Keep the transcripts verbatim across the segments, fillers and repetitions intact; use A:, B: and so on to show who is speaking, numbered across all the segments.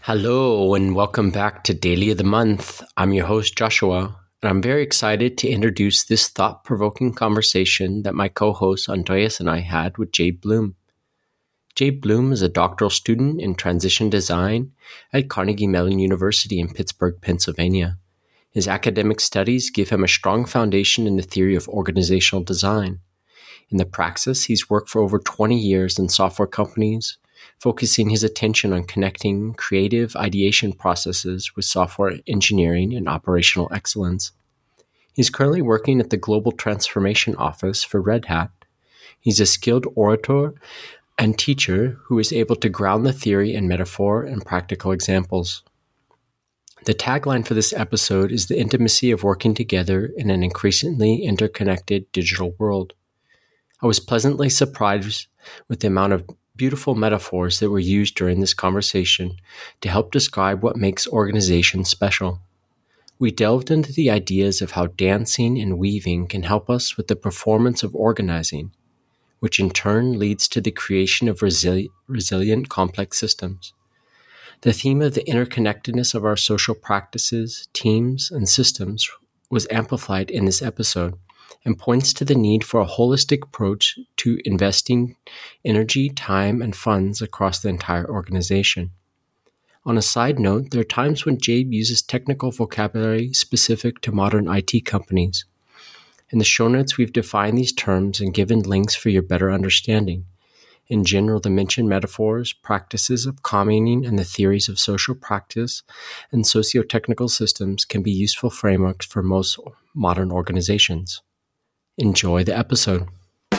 A: Hello and welcome back to Daily of the Month. I'm your host, Joshua, and I'm very excited to introduce this thought-provoking conversation that my co-host Andreas and I had with Jay Bloom. Jay Bloom is a doctoral student in transition design at Carnegie Mellon University in Pittsburgh, Pennsylvania. His academic studies give him a strong foundation in the theory of organizational design. In the praxis, he's worked for over twenty years in software companies, focusing his attention on connecting creative ideation processes with software engineering and operational excellence. He's currently working at the Global Transformation Office for Red Hat. He's a skilled orator and teacher who is able to ground the theory in metaphor and practical examples. The tagline for this episode is the intimacy of working together in an increasingly interconnected digital world. I was pleasantly surprised with the amount of beautiful metaphors that were used during this conversation to help describe what makes organizations special. We delved into the ideas of how dancing and weaving can help us with the performance of organizing, which in turn leads to the creation of resili- resilient complex systems. The theme of the interconnectedness of our social practices, teams, and systems was amplified in this episode, and points to the need for a holistic approach to investing energy, time, and funds across the entire organization. On a side note, there are times when Jabe uses technical vocabulary specific to modern I T companies. In the show notes, we've defined these terms and given links for your better understanding. In general, the mentioned metaphors, practices of commenting, and the theories of social practice and socio-technical systems can be useful frameworks for most modern organizations. Enjoy the episode.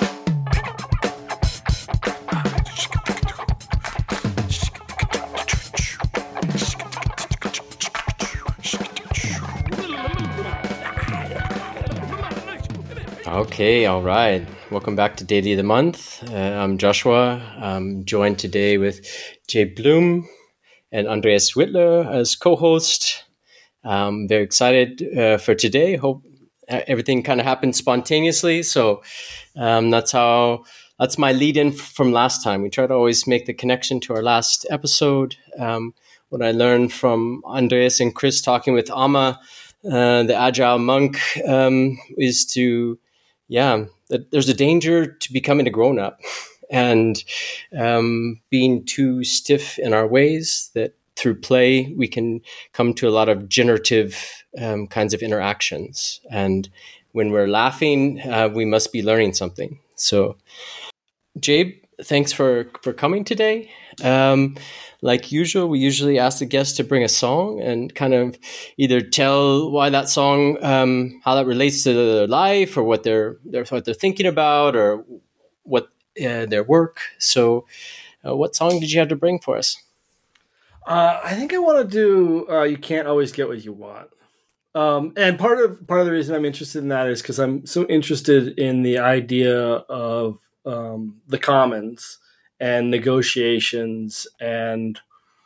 A: Okay, all right. Welcome back to Daily of the Month. Uh, I'm Joshua. I'm joined today with Jay Bloom and Andreas Whitler as co-host. I'm very excited uh, for today. Hope everything kind of happened spontaneously. So um, that's how, that's my lead in from last time. We try to always make the connection to our last episode. Um, what I learned from Andreas and Chris talking with Amma, uh, the Agile monk, um, is to, yeah, that there's a danger to becoming a grown-up and um, being too stiff in our ways, that through play, we can come to a lot of generative um, kinds of interactions. And when we're laughing, uh, we must be learning something. So, Jabe, thanks for, for coming today. Um, like usual, we usually ask the guests to bring a song and kind of either tell why that song, um, how that relates to their life or what they're, they're what they're thinking about or what uh, their work. So, uh, what song did you have to bring for us?
B: Uh, I think I want to do uh, You Can't Always Get What You Want. Um, and part of part of the reason I'm interested in that is because I'm so interested in the idea of um, the commons and negotiations and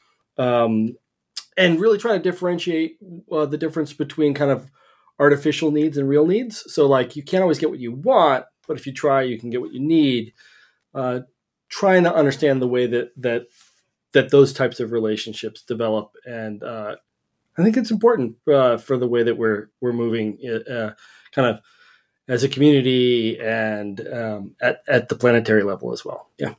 B: um, and really trying to differentiate uh, the difference between kind of artificial needs and real needs. So like you can't always get what you want, but if you try, you can get what you need. Uh, trying to understand the way that that that those types of relationships develop. And uh, I think it's important uh, for the way that we're we're moving uh, kind of as a community and um, at, at the planetary level as well. Yeah.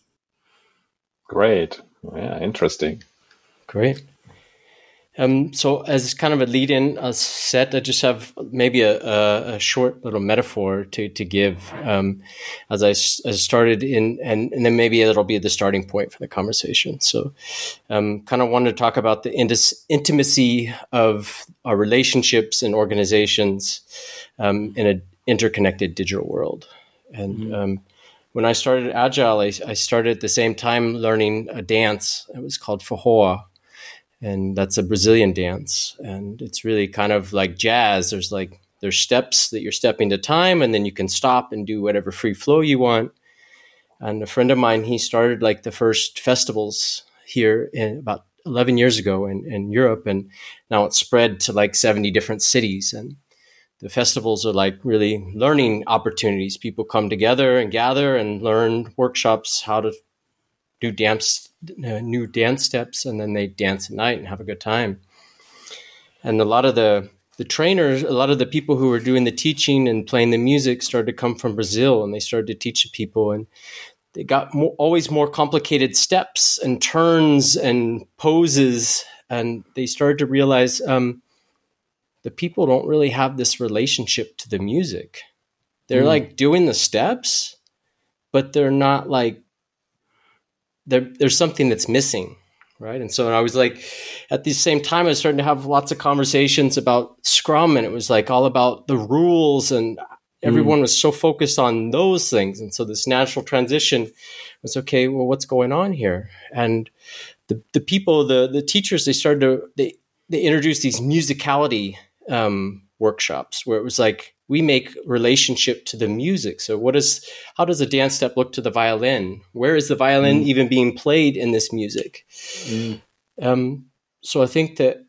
C: Great. Yeah, interesting.
A: Great. Um, so as kind of a lead-in uh, set, I just have maybe a, a, a short little metaphor to to give um, as I, as I started in, and, and then maybe it'll be the starting point for the conversation. So um, kind of wanted to talk about the intis- intimacy of our relationships and organizations um, in an interconnected digital world. And mm-hmm. um, when I started Agile, I, I started at the same time learning a dance. It was called Forró. And that's a Brazilian dance. And it's really kind of like jazz. There's like, there's steps that you're stepping to time, and then you can stop and do whatever free flow you want. And a friend of mine, he started like the first festivals here in about eleven years ago in, in Europe. And now it's spread to like seventy different cities. And the festivals are like really learning opportunities. People come together and gather and learn workshops, how to new dance, uh, new dance steps, and then they dance at night and have a good time. And a lot of the the trainers, a lot of the people who were doing the teaching and playing the music started to come from Brazil, and they started to teach the people, and they got more, always more complicated steps and turns and poses, and they started to realize um, the people don't really have this relationship to the music. They're mm. like doing the steps, but they're not like, they're, there's something that's missing. Right. And so I was like, at the same time, I was starting to have lots of conversations about Scrum, and it was like all about the rules, and everyone mm. was so focused on those things. And so this natural transition was, okay, well, what's going on here? And the, the people, the, the teachers, they started to, they, they introduced these musicality um, workshops where it was like, we make relationship to the music. So what is, how does a dance step look to the violin? Where is the violin mm. even being played in this music? Mm. Um, so I think that,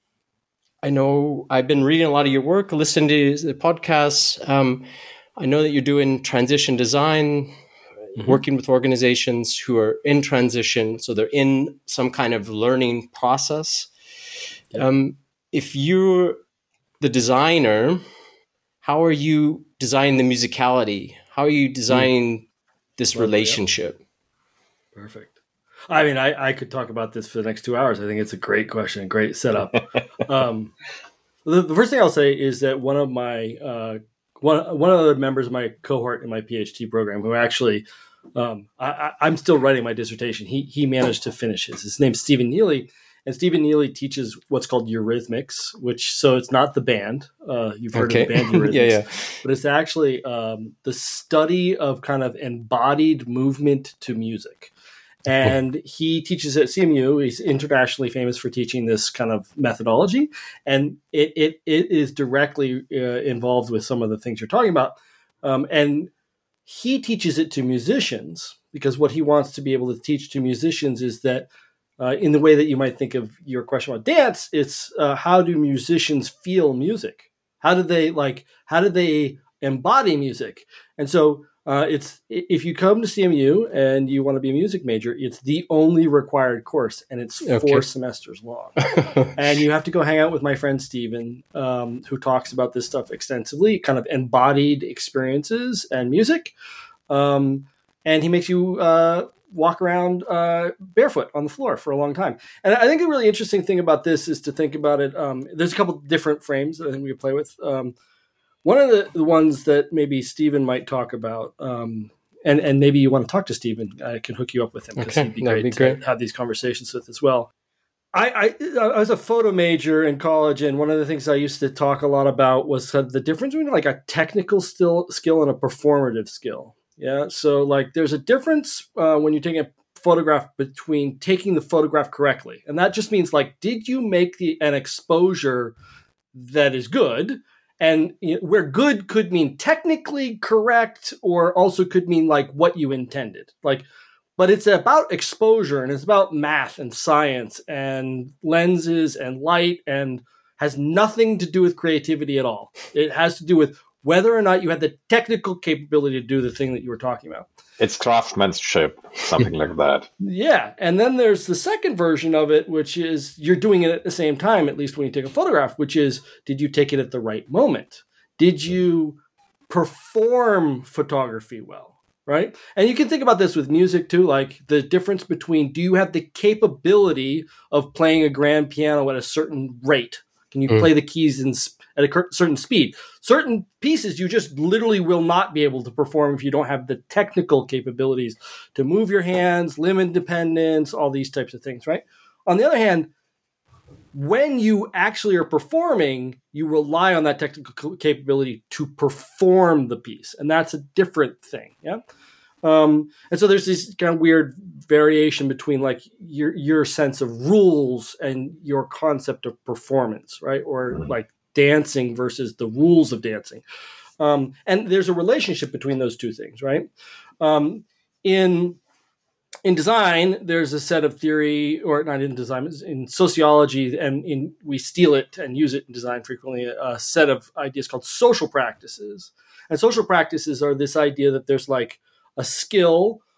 A: I know I've been reading a lot of your work, listening to the podcasts. Um, I know that you're doing transition design, mm-hmm. working with organizations who are in transition. So they're in some kind of learning process. Yeah. Um, if you're the designer, how are you designing the musicality? How are you designing mm. this well, relationship?
B: Yeah. Perfect. I mean, I, I could talk about this for the next two hours. I think it's a great question, great setup. um, the, the first thing I'll say is that one of my uh, one one of the members of my cohort in my PhD program, who actually um, I, I'm still writing my dissertation, he he managed to finish his. His name's Stephen Neely. And Stephen Neely teaches what's called Eurythmics, which, so it's not the band. Uh, you've heard okay. of the band Eurythmics. yeah, yeah. But it's actually um, the study of kind of embodied movement to music. And he teaches at C M U. He's internationally famous for teaching this kind of methodology. And it it, it is directly uh, involved with some of the things you're talking about. Um, and he teaches it to musicians because what he wants to be able to teach to musicians is that Uh, in the way that you might think of your question about dance, it's uh, how do musicians feel music? How do they like? How do they embody music? And so, uh, it's if you come to C M U and you want to be a music major, it's the only required course, and it's four okay. semesters long. And you have to go hang out with my friend Steven, um, who talks about this stuff extensively, kind of embodied experiences and music, um, and he makes you. Uh, walk around uh, barefoot on the floor for a long time. And I think a really interesting thing about this is to think about it. Um, there's a couple different frames that I think we could play with. Um, one of the, the ones that maybe Stephen might talk about, um, and, and maybe you want to talk to Stephen, I can hook you up with him because okay, he'd be great, be great to have these conversations with as well. I, I, I was a photo major in college, and one of the things I used to talk a lot about was the difference between like a technical still, skill and a performative skill. Yeah. So like there's a difference uh, when you're taking a photograph between taking the photograph correctly. And that just means like, did you make the an exposure that is good? And you know, where good could mean technically correct or also could mean like what you intended. Like, but it's about exposure and it's about math and science and lenses and light and has nothing to do with creativity at all. It has to do with whether or not you had the technical capability to do the thing that you were talking about.
C: It's craftsmanship, something like that.
B: Yeah. And then there's the second version of it, which is you're doing it at the same time, at least when you take a photograph, which is, did you take it at the right moment? Did you perform photography well? Right. And you can think about this with music too, like the difference between, do you have the capability of playing a grand piano at a certain rate? Can you mm. play the keys in at a certain speed? Certain pieces you just literally will not be able to perform if you don't have the technical capabilities to move your hands, limb independence, all these types of things, right? On the other hand, when you actually are performing, you rely on that technical capability to perform the piece. And that's a different thing, yeah? Um, and so there's this kind of weird variation between like your your sense of rules and your concept of performance, right? Or like dancing versus the rules of dancing. Um, and there's a relationship between those two things, right? Um, in in design, there's a set of theory, or not in design, in sociology, and in we steal it and use it in design frequently, a set of ideas called social practices. And social practices are this idea that there's like a skill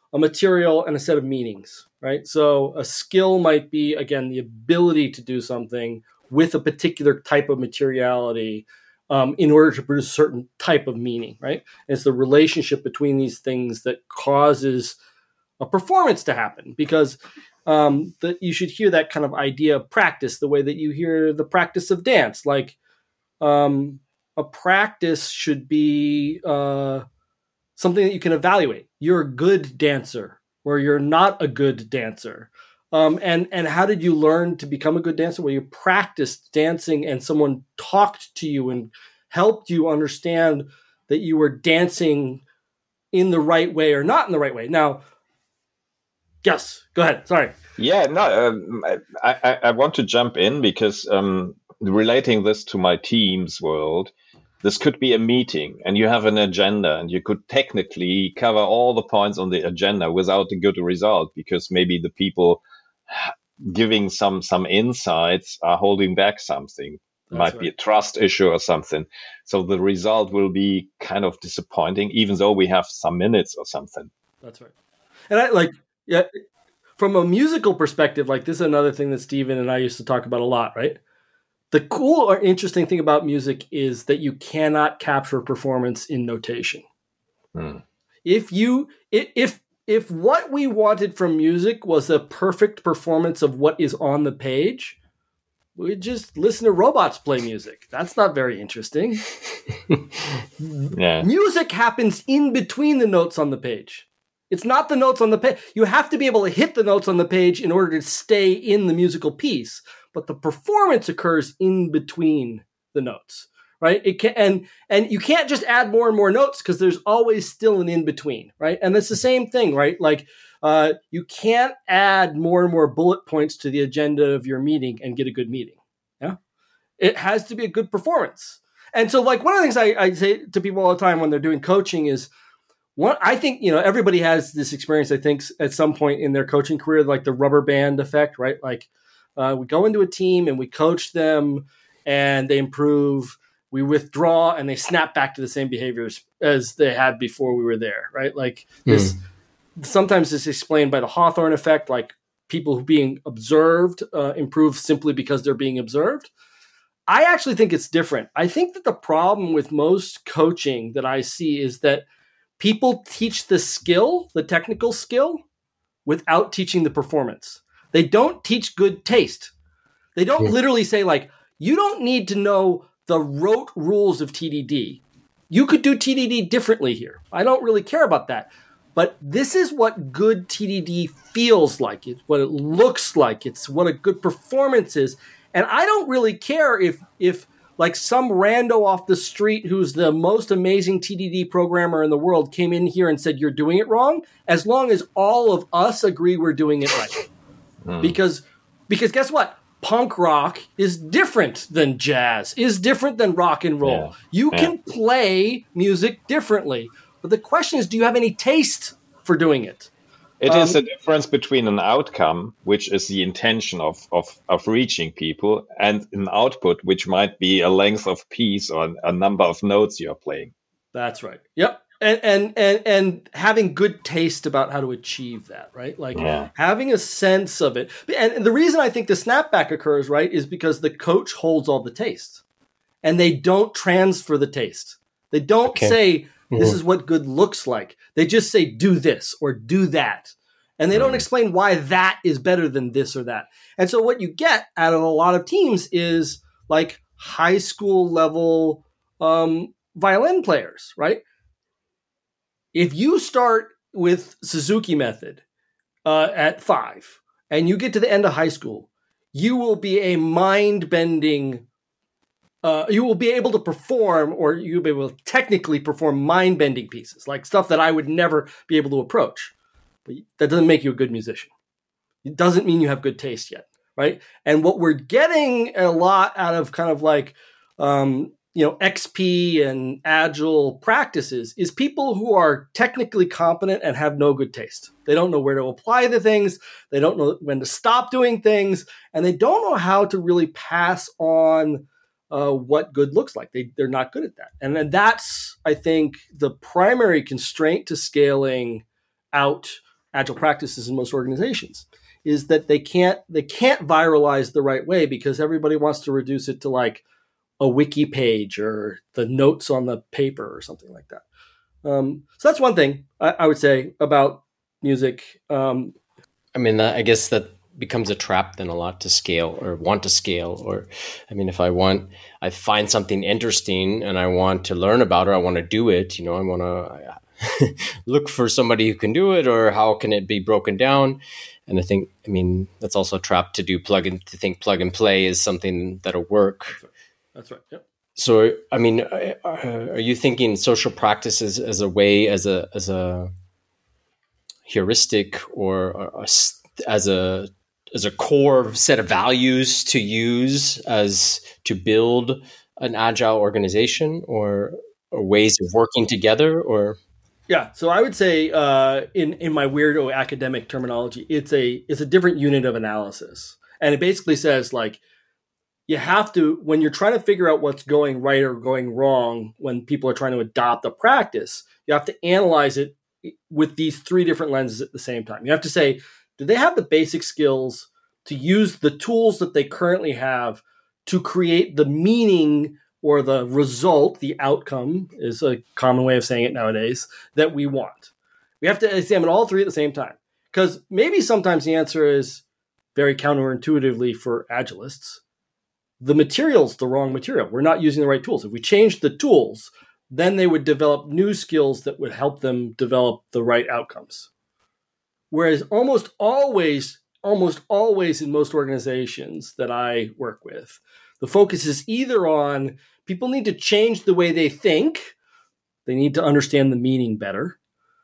B: a material, and a set of meanings, right? So a skill might be, again, the ability to do something with a particular type of materiality um, in order to produce a certain type of meaning, right? And it's the relationship between these things that causes a performance to happen, because um, that you should hear that kind of idea of practice the way that you hear the practice of dance. Like um, a practice should be uh, something that you can evaluate. You're a good dancer or you're not a good dancer. Um, and, and how did you learn to become a good dancer? Well, you practiced dancing and someone talked to you and helped you understand that you were dancing in the right way or not in the right way. Now, yes, go ahead. Sorry.
C: Yeah, no, um, I, I, I want to jump in because um, relating this to my team's world, this could be a meeting and you have an agenda and you could technically cover all the points on the agenda without a good result because maybe the people giving some some insights are holding back something. It might
B: right.
C: be a trust issue or something. So the result will be kind of disappointing, even though we have some minutes or something.
B: That's right. And I like, yeah, from a musical perspective, like this is another thing that Steven and I used to talk about a lot, right? The cool or interesting thing about music is that you cannot capture performance in notation.
C: Hmm.
B: If you, if, if what we wanted from music was a perfect performance of what is on the page, we'd just listen to robots play music. That's not very interesting.
C: Yeah.
B: Music happens in between the notes on the page. It's not the notes on the page. You have to be able to hit the notes on the page in order to stay in the musical piece. But the performance occurs in between the notes, right? It can, and and you can't just add more and more notes because there's always still an in between, right? And that's the same thing, right? Like uh, you can't add more and more bullet points to the agenda of your meeting and get a good meeting. Yeah, it has to be a good performance. And so, like one of the things I, I say to people all the time when they're doing coaching is, one, I think, you know, everybody has this experience, I think, at some point in their coaching career, like the rubber band effect, right? Like uh, we go into a team and we coach them and they improve. We withdraw and they snap back to the same behaviors as they had before we were there, right? Like this, mm. sometimes it's explained by the Hawthorne effect, like people who being observed uh, improve simply because they're being observed. I actually think it's different. I think that the problem with most coaching that I see is that people teach the skill, the technical skill, without teaching the performance. They don't teach good taste. They don't yeah. literally say, like, you don't need to know the rote rules of T D D. You could do T D D differently here. I don't really care about that. But this is what good T D D feels like. It's what it looks like. It's what a good performance is. And I don't really care if if like some rando off the street who's the most amazing T D D programmer in the world came in here and said, you're doing it wrong, as long as all of us agree we're doing it right. Mm. Because, because guess what? Punk rock is different than jazz, is different than rock and roll. Yeah. You yeah. can play music differently. But the question is, do you have any taste for doing it?
C: It
B: um,
C: is a difference between an outcome, which is the intention of, of, of reaching people, and an output, which might be a length of piece or a number of notes you're playing.
B: That's right. Yep. And and and, and having good taste about how to achieve that, right? Like yeah. having a sense of it. And the reason I think the snapback occurs, right, is because the coach holds all the taste. And they don't transfer the taste. They don't okay. say, this is what good looks like. They just say, do this or do that. And they don't explain why that is better than this or that. And so what you get out of a lot of teams is like high school level um, violin players, right? If you start with Suzuki method uh, at five and you get to the end of high school, you will be a mind-bending Uh, you will be able to perform, or you'll be able to technically perform mind-bending pieces, like stuff that I would never be able to approach. But that doesn't make you a good musician. It doesn't mean you have good taste yet, right? And what we're getting a lot out of kind of like, um, you know, X P and agile practices is people who are technically competent and have no good taste. They don't know where to apply the things. They don't know when to stop doing things. And they don't know how to really pass on Uh, what good looks like. They, they're not good at that. And then that's, I think, the primary constraint to scaling out agile practices in most organizations is that they can't they can't viralize the right way because everybody wants to reduce it to like a wiki page or the notes on the paper or something like that. Um, so that's one thing I, I would say about music. Um,
A: I mean, I guess that becomes a trap then a lot to scale or want to scale. Or, I mean, if I want, I find something interesting and I want to learn about it, I want to do it, you know, I want to look for somebody who can do it, or how can it be broken down? And I think, I mean, that's also a trap to do plug and to think plug and play is something that'll work.
B: That's right. Yep.
A: So, I mean, are you thinking social practices as a way, as a, as a heuristic or a, as a, as a core set of values to use as to build an agile organization, or, or ways of working together? Or
B: yeah, so I would say uh, in in my weirdo academic terminology, it's a it's a different unit of analysis, and it basically says like you have to, when you're trying to figure out what's going right or going wrong when people are trying to adopt a practice, you have to analyze it with these three different lenses at the same time. You have to say, do they have the basic skills to use the tools that they currently have to create the meaning or the result, the outcome is a common way of saying it nowadays, that we want? We have to examine all three at the same time. Because maybe sometimes the answer is very counterintuitively for agilists. The material's the wrong material. We're not using the right tools. If we change the tools, then they would develop new skills that would help them develop the right outcomes. Whereas almost always, almost always in most organizations that I work with, the focus is either on people need to change the way they think, they need to understand the meaning better,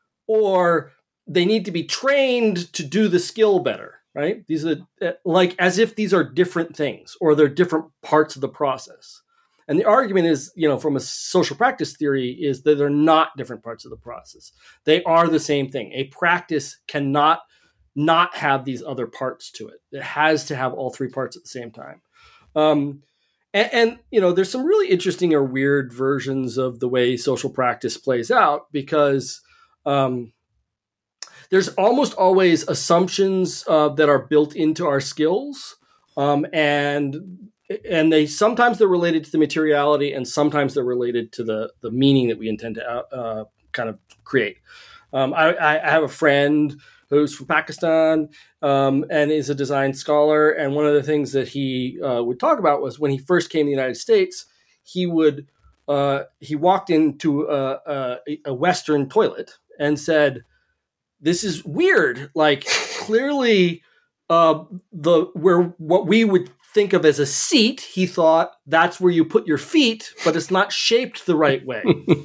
B: or they need to be trained to do the skill better, right? These are like as if these are different things or they're different parts of the process. And the argument is, you know, from a social practice theory, is that they're not different parts of the process. They are the same thing. A practice cannot not have these other parts to it. It has to have all three parts at the same time. Um, and, and, you know, there's some really interesting or weird versions of the way social practice plays out, because um, there's almost always assumptions uh, that are built into our skills. Um, and and they sometimes they're related to the materiality, and sometimes they're related to the, the meaning that we intend to uh, kind of create. Um, I, I have a friend who's from Pakistan um, and is a design scholar. And one of the things that he uh, would talk about was when he first came to the United States, he would uh, he walked into a, a, a Western toilet and said, "This is weird. Like clearly, uh, the where what we would think of as a seat, he thought that's where you put your feet, but it's not shaped the right way."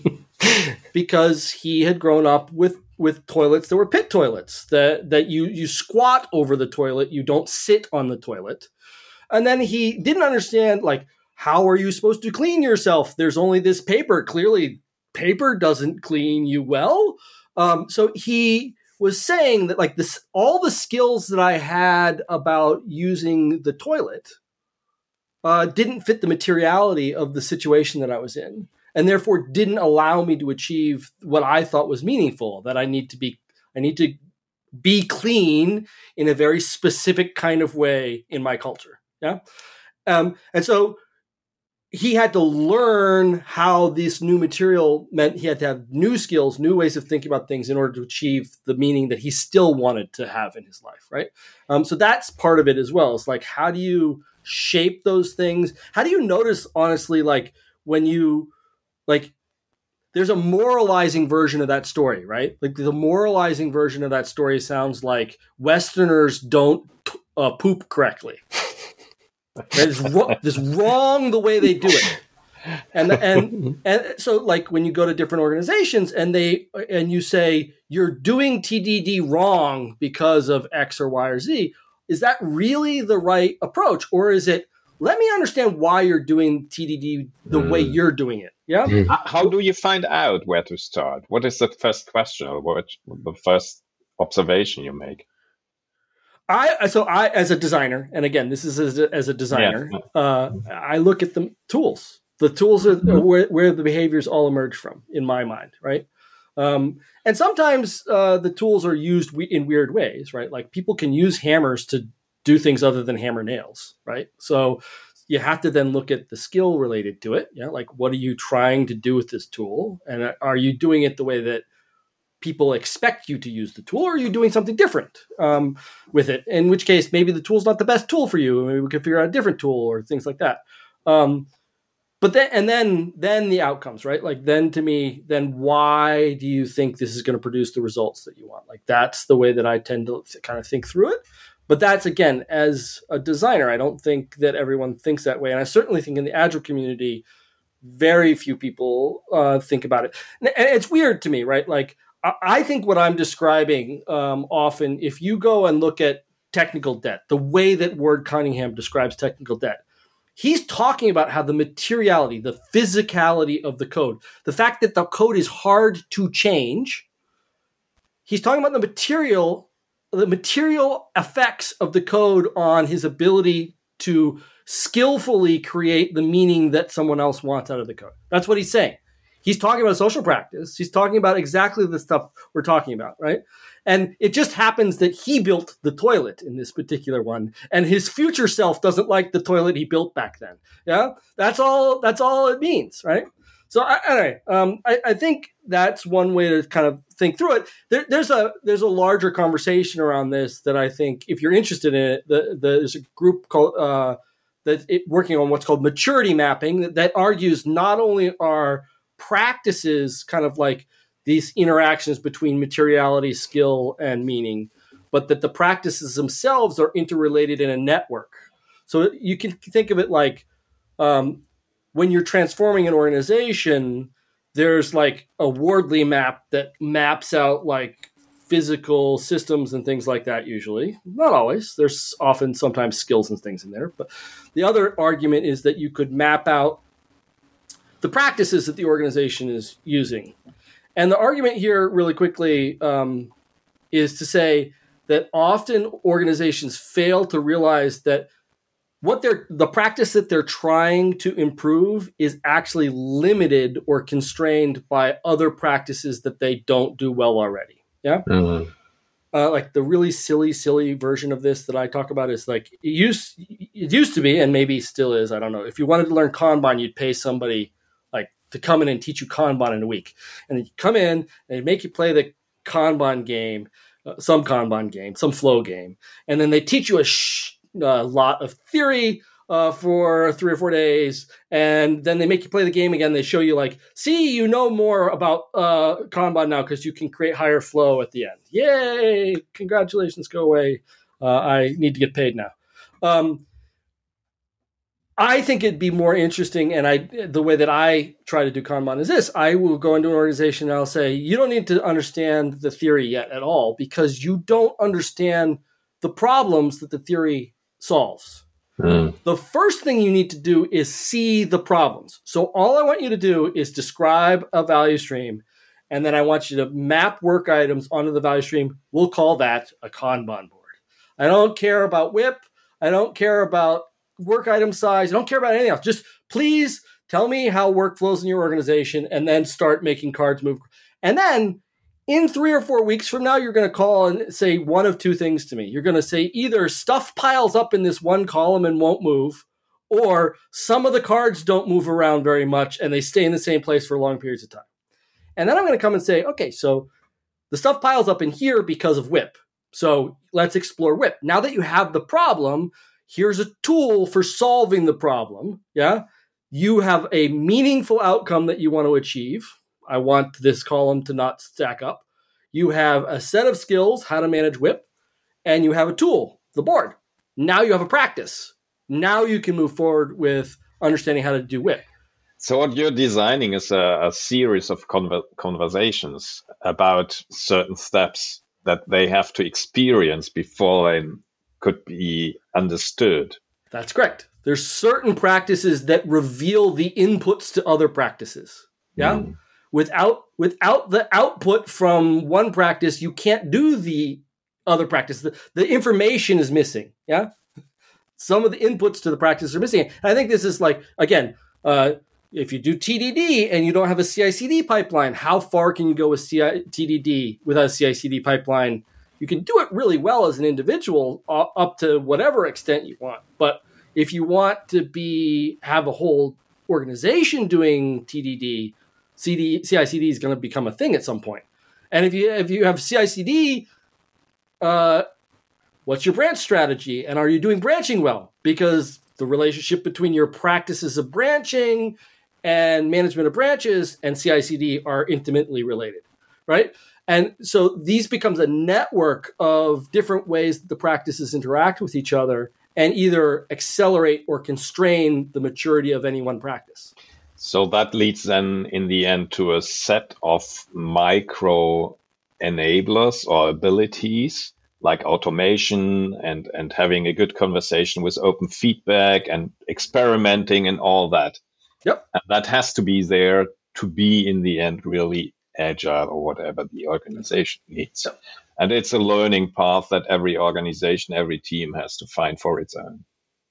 B: Because he had grown up with, with toilets that were pit toilets, that, that you, you squat over the toilet, you don't sit on the toilet. And then he didn't understand, like, how are you supposed to clean yourself? There's only this paper. Clearly, paper doesn't clean you well. Um, so he was saying that, like, this, all the skills that I had about using the toilet uh, didn't fit the materiality of the situation that I was in, and therefore didn't allow me to achieve what I thought was meaningful, that I need to be, I need to be clean in a very specific kind of way in my culture. Yeah. Um, and so he had to learn how this new material meant he had to have new skills, new ways of thinking about things in order to achieve the meaning that he still wanted to have in his life. Right. Um, so that's part of it as well. It's like, how do you shape those things? How do you notice, honestly, like when you, like, there's a moralizing version of that story, right? Like the moralizing version of that story sounds like Westerners don't uh, poop correctly. Right? It's, ro- it's wrong the way they do it. And, and, and so like when you go to different organizations and they, and you say, you're doing T D D wrong because of X or Y or Z, is that really the right approach? Or is it, let me understand why you're doing T D D the mm. way you're doing it. Yeah.
C: Mm. How do you find out where to start? What is the first question, or what the first observation you make?
B: I so I as a designer, and again, this is as a, as a designer, yeah. uh, I look at the tools. The tools are mm. where, where the behaviors all emerge from, in my mind, right? Um, and sometimes uh, the tools are used we- in weird ways, right? Like people can use hammers to do things other than hammer nails, right? So you have to then look at the skill related to it. Yeah, like what are you trying to do with this tool? And are you doing it the way that people expect you to use the tool, or are you doing something different um, with it? In which case, maybe the tool's not the best tool for you. Maybe we could figure out a different tool or things like that. Um, but then, and then, then the outcomes, right? Like then to me, then why do you think this is going to produce the results that you want? Like that's the way that I tend to kind of think through it. But that's, again, as a designer, I don't think that everyone thinks that way. And I certainly think in the Agile community, very few people uh, think about it. And it's weird to me, right? Like, I think what I'm describing um, often, if you go and look at technical debt, the way that Ward Cunningham describes technical debt, he's talking about how the materiality, the physicality of the code, the fact that the code is hard to change, he's talking about the material, the material effects of the code on his ability to skillfully create the meaning that someone else wants out of the code. That's what he's saying. He's talking about social practice. He's talking about exactly the stuff we're talking about, right? And it just happens that he built the toilet in this particular one, and his future self doesn't like the toilet he built back then. Yeah, that's all. That's all it means, right? So, anyway, um, I, I think that's one way to kind of think through it. There, there's a there's a larger conversation around this that I think, if you're interested in it, the, the, there's a group called uh, that it, working on what's called maturity mapping that, that argues not only are practices kind of like these interactions between materiality, skill, and meaning, but that the practices themselves are interrelated in a network. So you can think of it like um, when you're transforming an organization, there's like a Wardley map that maps out like physical systems and things like that usually. Not always. There's often sometimes skills and things in there. But the other argument is that you could map out the practices that the organization is using. And the argument here really quickly um, is to say that often organizations fail to realize that what they're, the practice that they're trying to improve is actually limited or constrained by other practices that they don't do well already. Yeah. Mm-hmm. Uh, like the really silly, silly version of this that I talk about is like, it used, it used to be, and maybe still is, I don't know. If you wanted to learn Kanban, you'd pay somebody to come in and teach you Kanban in a week. And then you come in and they make you play the Kanban game, uh, some Kanban game, some flow game. And then they teach you a sh- uh, lot of theory uh, for three or four days. And then they make you play the game again. They show you like, see, you know more about uh, Kanban now because you can create higher flow at the end. Yay! Congratulations, go away. Uh, I need to get paid now. Um, I think it'd be more interesting, and I the way that I try to do Kanban is this. I will go into an organization and I'll say, you don't need to understand the theory yet at all because you don't understand the problems that the theory solves. Mm. The first thing you need to do is see the problems. So all I want you to do is describe a value stream, and then I want you to map work items onto the value stream. We'll call that a Kanban board. I don't care about W I P. I don't care about work item size. I don't care about anything else. Just please tell me how work flows in your organization and then start making cards move. And then in three or four weeks from now, you're going to call and say one of two things to me. You're going to say either stuff piles up in this one column and won't move, or some of the cards don't move around very much and they stay in the same place for long periods of time. And then I'm going to come and say, okay, so the stuff piles up in here because of W I P. So let's explore W I P. Now that you have the problem, here's a tool for solving the problem. Yeah. You have a meaningful outcome that you want to achieve. I want this column to not stack up. You have a set of skills, how to manage W I P, and you have a tool, the board. Now you have a practice. Now you can move forward with understanding how to do W I P.
C: So what you're designing is a, a series of conver- conversations about certain steps that they have to experience before they could be understood.
B: That's correct. There's certain practices that reveal the inputs to other practices. Yeah. Mm. Without without the output from one practice, you can't do the other practice. The, the information is missing. Yeah. Some of the inputs to the practice are missing. And I think this is like, again, uh, if you do T D D and you don't have a C I C D pipeline, how far can you go with C I, T D D without a C I C D pipeline? You can do it really well as an individual uh, up to whatever extent you want. But if you want to be have a whole organization doing T D D, C D, C I C D is going to become a thing at some point. And if you if you have C I C D, uh, what's your branch strategy? And are you doing branching well? Because the relationship between your practices of branching and management of branches and C I C D are intimately related, right? And so these becomes a network of different ways that the practices interact with each other and either accelerate or constrain the maturity of any one practice.
C: So that leads then in the end to a set of micro enablers or abilities like automation and, and having a good conversation with open feedback and experimenting and all that.
B: Yep.
C: And that has to be there to be in the end really agile or whatever the organization needs. Yep. And it's a learning path that every organization, every team has to find for its own.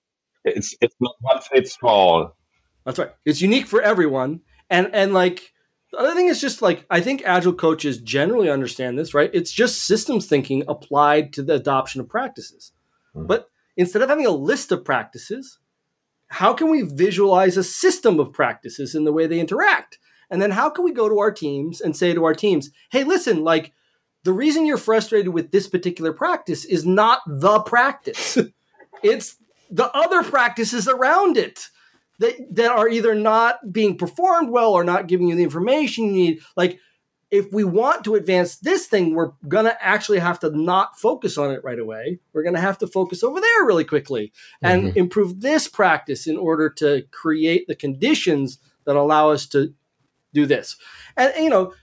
C: It's it's not one fits all.
B: That's right. It's unique for everyone. And and like the other thing is just like I think agile coaches generally understand this, right? It's just systems thinking applied to the adoption of practices. Mm-hmm. But instead of having a list of practices, how can we visualize a system of practices in the way they interact? And then how can we go to our teams and say to our teams, hey, listen, like the reason you're frustrated with this particular practice is not the practice. It's the other practices around it that, that are either not being performed well or not giving you the information you need. Like if we want to advance this thing, we're going to actually have to not focus on it right away. We're going to have to focus over there really quickly and mm-hmm. improve this practice in order to create the conditions that allow us to do this. And, you know,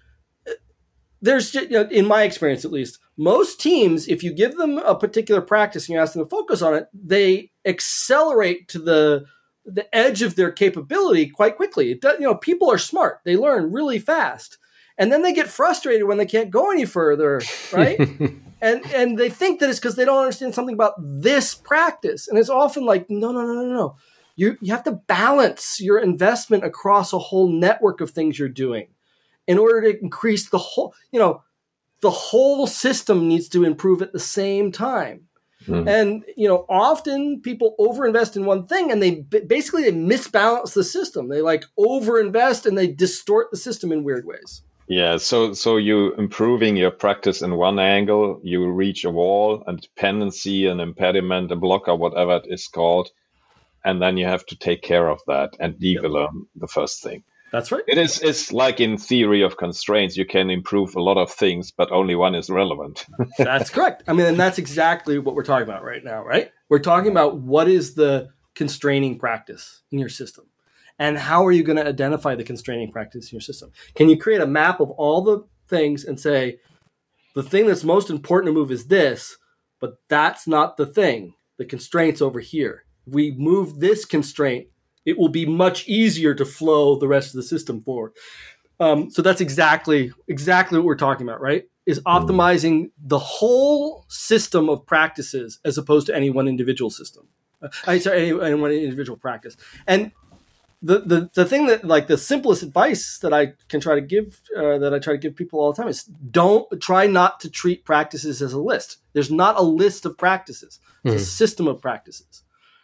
B: there's, you know, in my experience, at least, most teams, if you give them a particular practice and you ask them to focus on it, they accelerate to the the edge of their capability quite quickly. It does, you know, people are smart. They learn really fast. And then they get frustrated when they can't go any further, right? and and they think that it's because they don't understand something about this practice. And it's often like, no, no, no, no, no. You you have to balance your investment across a whole network of things you're doing in order to increase the whole, you know, the whole system needs to improve at the same time. Mm. And, you know, often people overinvest in one thing and they basically they misbalance the system. They like overinvest and they distort the system in weird ways.
C: Yeah, so so you improving your practice in one angle, you reach a wall, a dependency, an impediment, a blocker, whatever it is called. And then you have to take care of that and develop yep. the first thing.
B: That's right.
C: It is it's like in theory of constraints, you can improve a lot of things, but only one is relevant.
B: That's correct. I mean, and that's exactly what we're talking about right now, right? We're talking about what is the constraining practice in your system and how are you going to identify the constraining practice in your system? Can you create a map of all the things and say, the thing that's most important to move is this, but that's not the thing. The constraint's over here. If we move this constraint, it will be much easier to flow the rest of the system forward. Um, so that's exactly exactly what we're talking about, right? Is optimizing the whole system of practices as opposed to any one individual system. Uh, I sorry, any, any one individual practice. And the, the the thing that like the simplest advice that I can try to give uh, that I try to give people all the time is don't try not to treat practices as a list. There's not a list of practices. It's mm. a system of practices.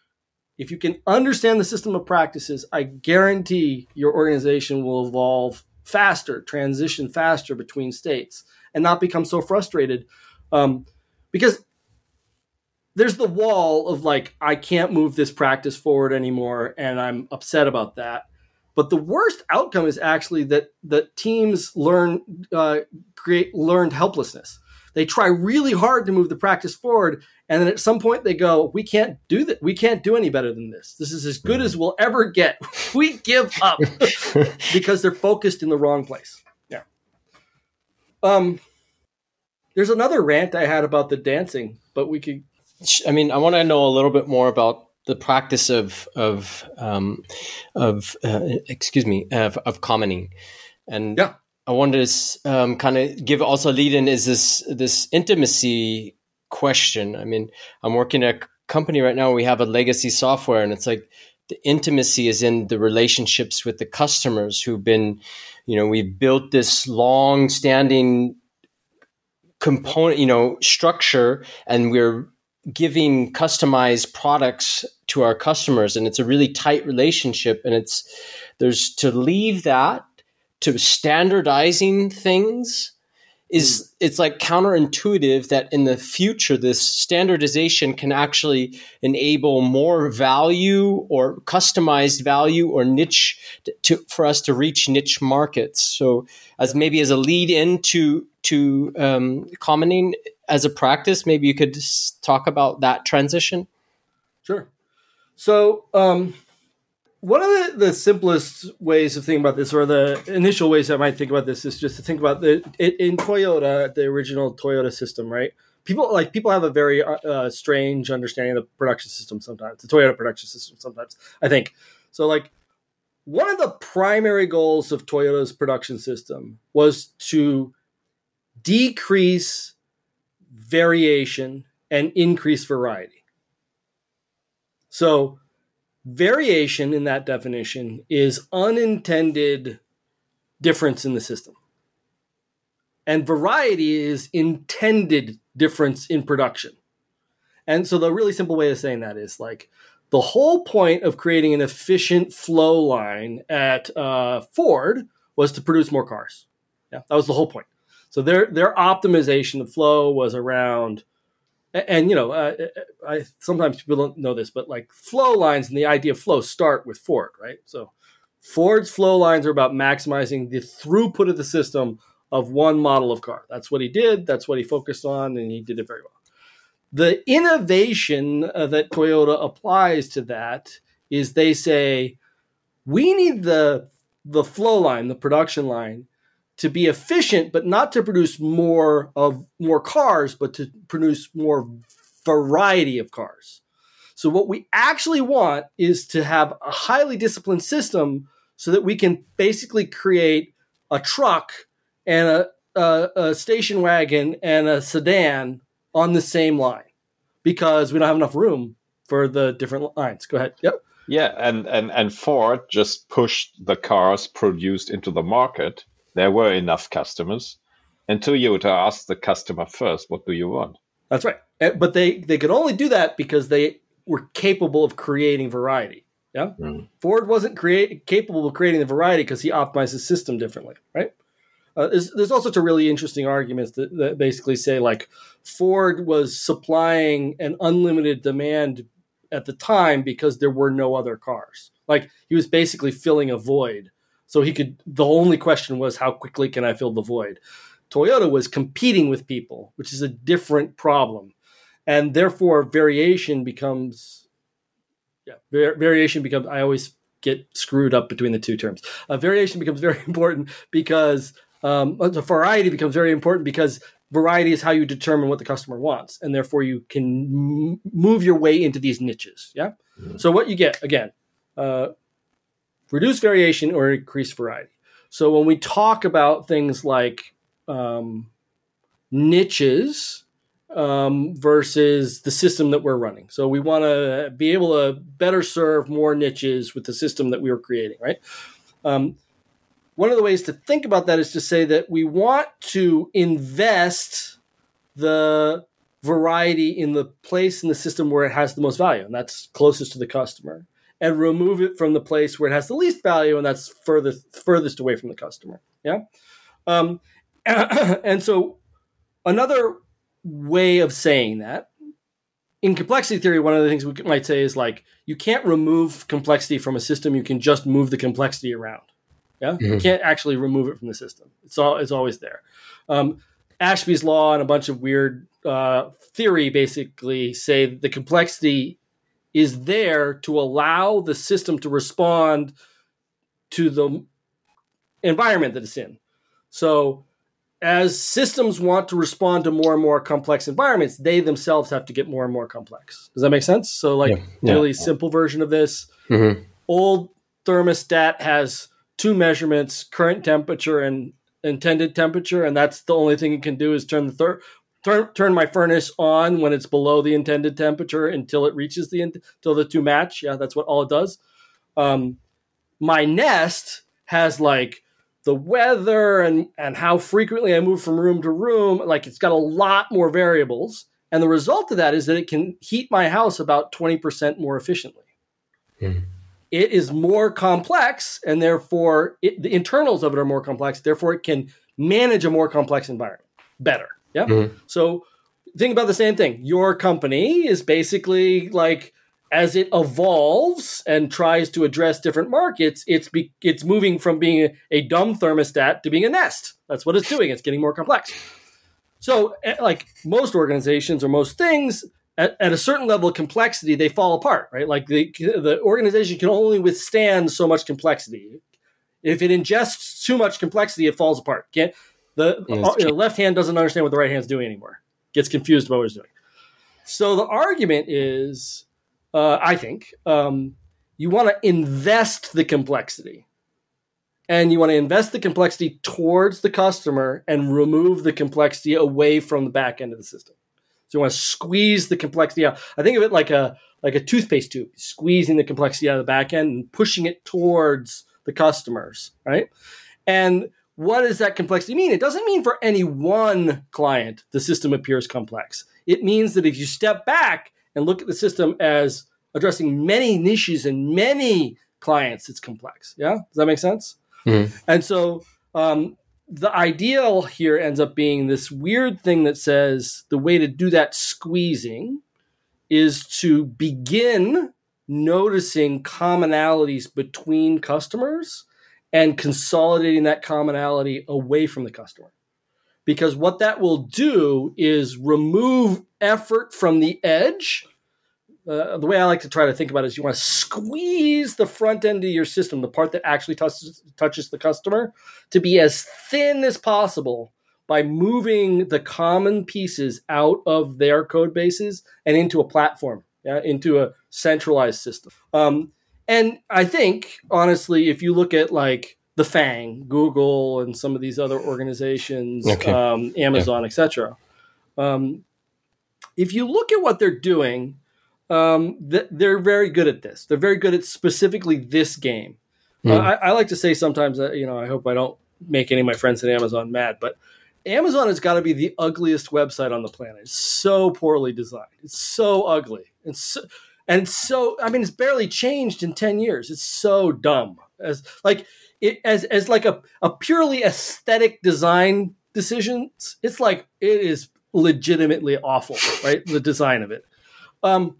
B: If you can understand the system of practices, I guarantee your organization will evolve faster, transition faster between states, and not become so frustrated. Um, because there's the wall of like, I can't move this practice forward anymore, and I'm upset about that. But the worst outcome is actually that that teams learn uh, create learned helplessness. They try really hard to move the practice forward, and then at some point they go, "We can't do that. We can't do any better than this. This is as good as we'll ever get. We give up," because they're focused in the wrong place. Yeah. Um. There's another rant I had about the dancing, but we could.
A: I mean, I want to know a little bit more about the practice of of um, of uh, excuse me of, of commenting, and
B: yeah.
A: I wanted to um, kind of give also a lead in is this this intimacy question. I mean, I'm working at a company right now. We have a legacy software, and it's like the intimacy is in the relationships with the customers who've been, you know, we've built this long-standing component, you know, structure, and we're giving customized products to our customers, and it's a really tight relationship. And it's there's to leave that to standardizing things is mm. it's like counterintuitive that in the future this standardization can actually enable more value or customized value or niche to for us to reach niche markets. So as maybe as a lead into to um, commenting as a practice, maybe you could talk about that transition.
B: Sure. So um, one of the, the simplest ways of thinking about this, or the initial ways I might think about this, is just to think about the it, in Toyota, the original Toyota system, right? People like people have a very uh, strange understanding of the production system sometimes, the Toyota production system sometimes, I think. So like one of the primary goals of Toyota's production system was to decrease variation and increase variety. So variation in that definition is unintended difference in the system. And variety is intended difference in production. And so the really simple way of saying that is like the whole point of creating an efficient flow line at uh, Ford was to produce more cars. Yeah, that was the whole point. So their their optimization of flow was around, and, and you know, uh, I sometimes people don't know this, but like flow lines and the idea of flow start with Ford, right? So Ford's flow lines are about maximizing the throughput of the system of one model of car. That's what he did. That's what he focused on, and he did it very well. The innovation uh, that Toyota applies to that is they say, we need the the flow line, the production line, to be efficient, but not to produce more of more cars, but to produce more variety of cars. So what we actually want is to have a highly disciplined system so that we can basically create a truck and a, a, a station wagon and a sedan on the same line, because we don't have enough room for the different lines. Go ahead. Yep.
C: Yeah, and, and, and Ford just pushed the cars produced into the market. There were enough customers. And Toyota asked the customer first, what do you want?
B: That's right. But they, they could only do that because they were capable of creating variety. Yeah. Mm. Ford wasn't create, capable of creating the variety because he optimized his system differently, right? Uh, there's, there's all sorts of really interesting arguments that, that basically say, like, Ford was supplying an unlimited demand at the time because there were no other cars. Like, he was basically filling a void. So he could, the only question was, how quickly can I fill the void? Toyota was competing with people, which is a different problem. And therefore, variation becomes, yeah, var- variation becomes, I always get screwed up between the two terms. Uh, variation becomes very important because, um, the variety becomes very important because variety is how you determine what the customer wants. And therefore, you can m- move your way into these niches. Yeah. Mm-hmm. So what you get, again, uh, reduce variation or increase variety. So when we talk about things like um, niches um, versus the system that we're running. So we want to be able to better serve more niches with the system that we were creating, right? Um, one of the ways to think about that is to say that we want to invest the variety in the place in the system where it has the most value, and that's closest to the customer, and remove it from the place where it has the least value, and that's furthest furthest away from the customer. Yeah. Um, and so another way of saying that, in complexity theory, one of the things we might say is, like, you can't remove complexity from a system. You can just move the complexity around. Yeah. Mm-hmm. You can't actually remove it from the system. It's all, it's always there. Um, Ashby's law and a bunch of weird uh, theory basically say the complexity is there to allow the system to respond to the environment that it's in. So as systems want to respond to more and more complex environments, they themselves have to get more and more complex. Does that make sense? So, like, yeah, yeah. really simple version of this, mm-hmm. old thermostat has two measurements, current temperature and intended temperature, and that's the only thing it can do is turn the thir- turn turn my furnace on when it's below the intended temperature until it reaches the until the two match. Yeah, that's what all it does. Um, my Nest has like the weather and, and how frequently I move from room to room. Like it's got a lot more variables. And the result of that is that it can heat my house about twenty percent more efficiently. Mm. It is more complex, and therefore it, the internals of it are more complex. Therefore, it can manage a more complex environment better. Yeah. Mm. So think about the same thing. Your company is basically like, as it evolves and tries to address different markets, it's be, it's moving from being a, a dumb thermostat to being a Nest. That's what it's doing. It's getting more complex. So like most organizations or most things, at, at a certain level of complexity, they fall apart, right? Like the, the organization can only withstand so much complexity. If it ingests too much complexity, it falls apart. Can't, the, the left hand doesn't understand what the right hand's doing anymore. Gets confused about what it's doing. So the argument is, uh, I think, um, you want to invest the complexity. And you want to invest the complexity towards the customer and remove the complexity away from the back end of the system. So you want to squeeze the complexity out. I think of it like a like a toothpaste tube, squeezing the complexity out of the back end and pushing it towards the customers, right? And what does that complexity mean? It doesn't mean for any one client the system appears complex. It means that if you step back and look at the system as addressing many niches and many clients, it's complex. Yeah? Does that make sense? Mm-hmm. And so um, the ideal here ends up being this weird thing that says the way to do that squeezing is to begin noticing commonalities between customers and consolidating that commonality away from the customer. Because what that will do is remove effort from the edge. Uh, the way I like to try to think about it is you want to squeeze the front end of your system, the part that actually touches, touches the customer, to be as thin as possible by moving the common pieces out of their code bases and into a platform, yeah, into a centralized system. Um, and I think, honestly, if you look at like the FANG, Google, and some of these other organizations, okay. um, Amazon, yeah. et cetera, um, if you look at what they're doing, Um, th- they're very good at this. They're very good at specifically this game. Mm. Uh, I, I like to say sometimes that, you know, I hope I don't make any of my friends at Amazon mad, but Amazon has got to be the ugliest website on the planet. It's so poorly designed. It's so ugly. It's so, and it's so, I mean, it's barely changed in ten years. It's so dumb as like it, as, as like a, a purely aesthetic design decisions. It's like, it is legitimately awful, right? The design of it. Um,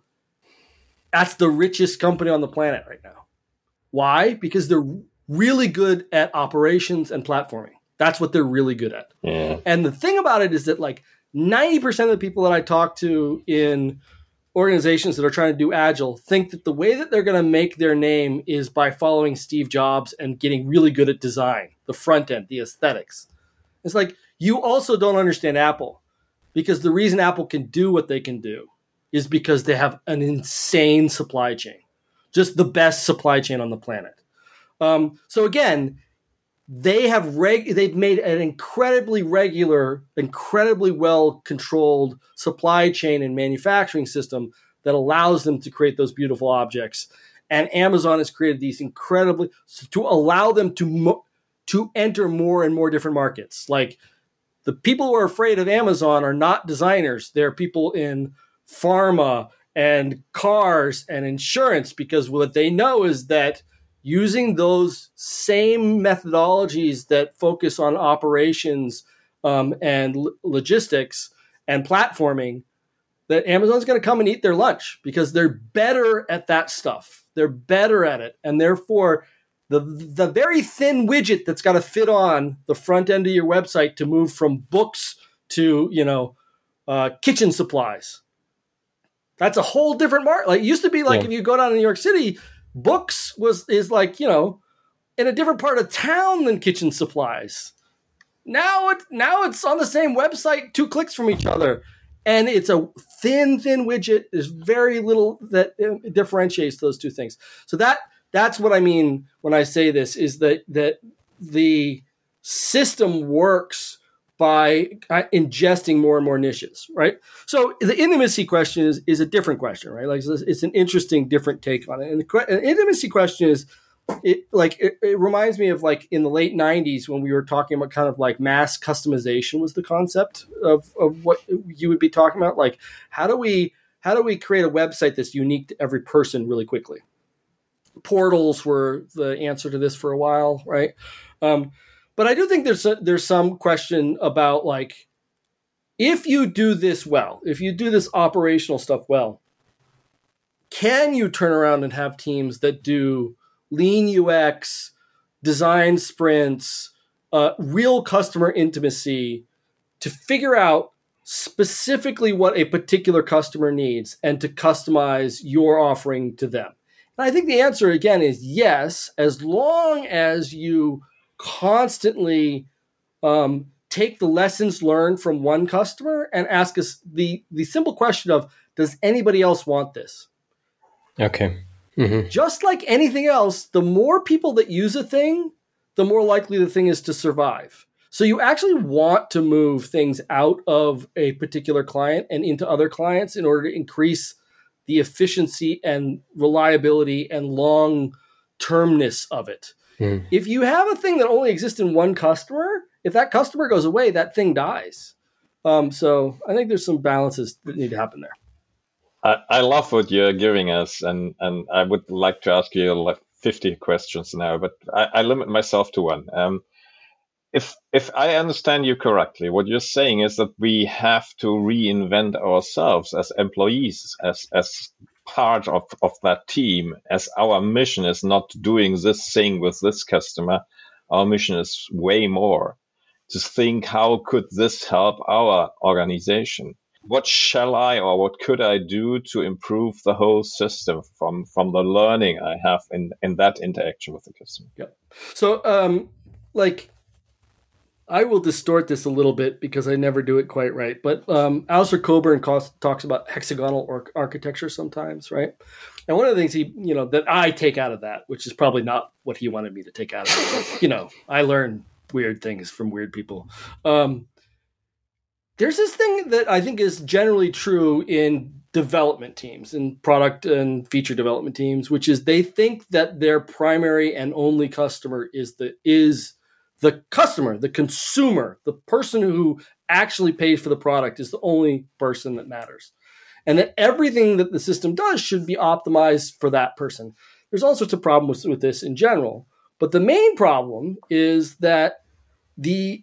B: That's the richest company on the planet right now. Why? Because they're really good at operations and platforming. That's what they're really good at. Yeah. And the thing about it is that like ninety percent of the people that I talk to in organizations that are trying to do Agile think that the way that they're going to make their name is by following Steve Jobs and getting really good at design, the front end, the aesthetics. It's like, you also don't understand Apple, because the reason Apple can do what they can do is because they have an insane supply chain, just the best supply chain on the planet. Um, so again, they have reg- they've made an incredibly regular, incredibly well-controlled supply chain and manufacturing system that allows them to create those beautiful objects. And Amazon has created these incredibly to allow them to mo- to enter more and more different markets. Like the people who are afraid of Amazon are not designers; they're people in pharma and cars and insurance, because what they know is that using those same methodologies that focus on operations um, and l- logistics and platforming, that Amazon's going to come and eat their lunch because they're better at that stuff. They're better at it. And therefore, the the very thin widget that's got to fit on the front end of your website to move from books to, you know, uh, kitchen supplies. That's a whole different market. Like it used to be like yeah. if you go down to New York City, books was is like, you know, in a different part of town than kitchen supplies. Now it now it's on the same website, two clicks from each other. And it's a thin, thin widget. There's very little that differentiates those two things. So that that's what I mean when I say this, is that that the system works by ingesting more and more niches, right? So the intimacy question is, is a different question, right? Like it's an interesting, different take on it. And the an intimacy question is, it like it, it reminds me of like in the late nineties when we were talking about kind of like mass customization was the concept of, of what you would be talking about. Like how do we how do we create a website that's unique to every person really quickly? Portals were the answer to this for a while, right? Um, but I do think there's a, there's some question about like if you do this well, if you do this operational stuff well, can you turn around and have teams that do lean U X, design sprints, uh, real customer intimacy to figure out specifically what a particular customer needs and to customize your offering to them? And I think the answer, again, is yes, as long as you constantly um, take the lessons learned from one customer and ask us the, the simple question of, does anybody else want this?
A: Okay. Mm-hmm.
B: Just like anything else, the more people that use a thing, the more likely the thing is to survive. So you actually want to move things out of a particular client and into other clients in order to increase the efficiency and reliability and long-termness of it. Mm. If you have a thing that only exists in one customer, if that customer goes away, that thing dies. Um, so I think there's some balances that need to happen there.
C: I, I love what you're giving us, and, and I would like to ask you like fifty questions now, but I, I limit myself to one. Um, if if I understand you correctly, what you're saying is that we have to reinvent ourselves as employees, as as part of, of that team, as our mission is not doing this thing with this customer. Our mission is way more to think, how could this help our organization? What shall I or what could I do to improve the whole system from, from the learning I have in, in that interaction with the customer?
B: Yeah. So, um, like, I will distort this a little bit because I never do it quite right. But um, Alistair Cockburn talks about hexagonal or- architecture sometimes, right? And one of the things he, you know, that I take out of that, which is probably not what he wanted me to take out of it, but, you know, I learn weird things from weird people. Um, There's this thing that I think is generally true in development teams, in product and feature development teams, which is they think that their primary and only customer is the is the customer, the consumer, the person who actually pays for the product is the only person that matters. And that everything that the system does should be optimized for that person. There's all sorts of problems with this in general. But the main problem is that the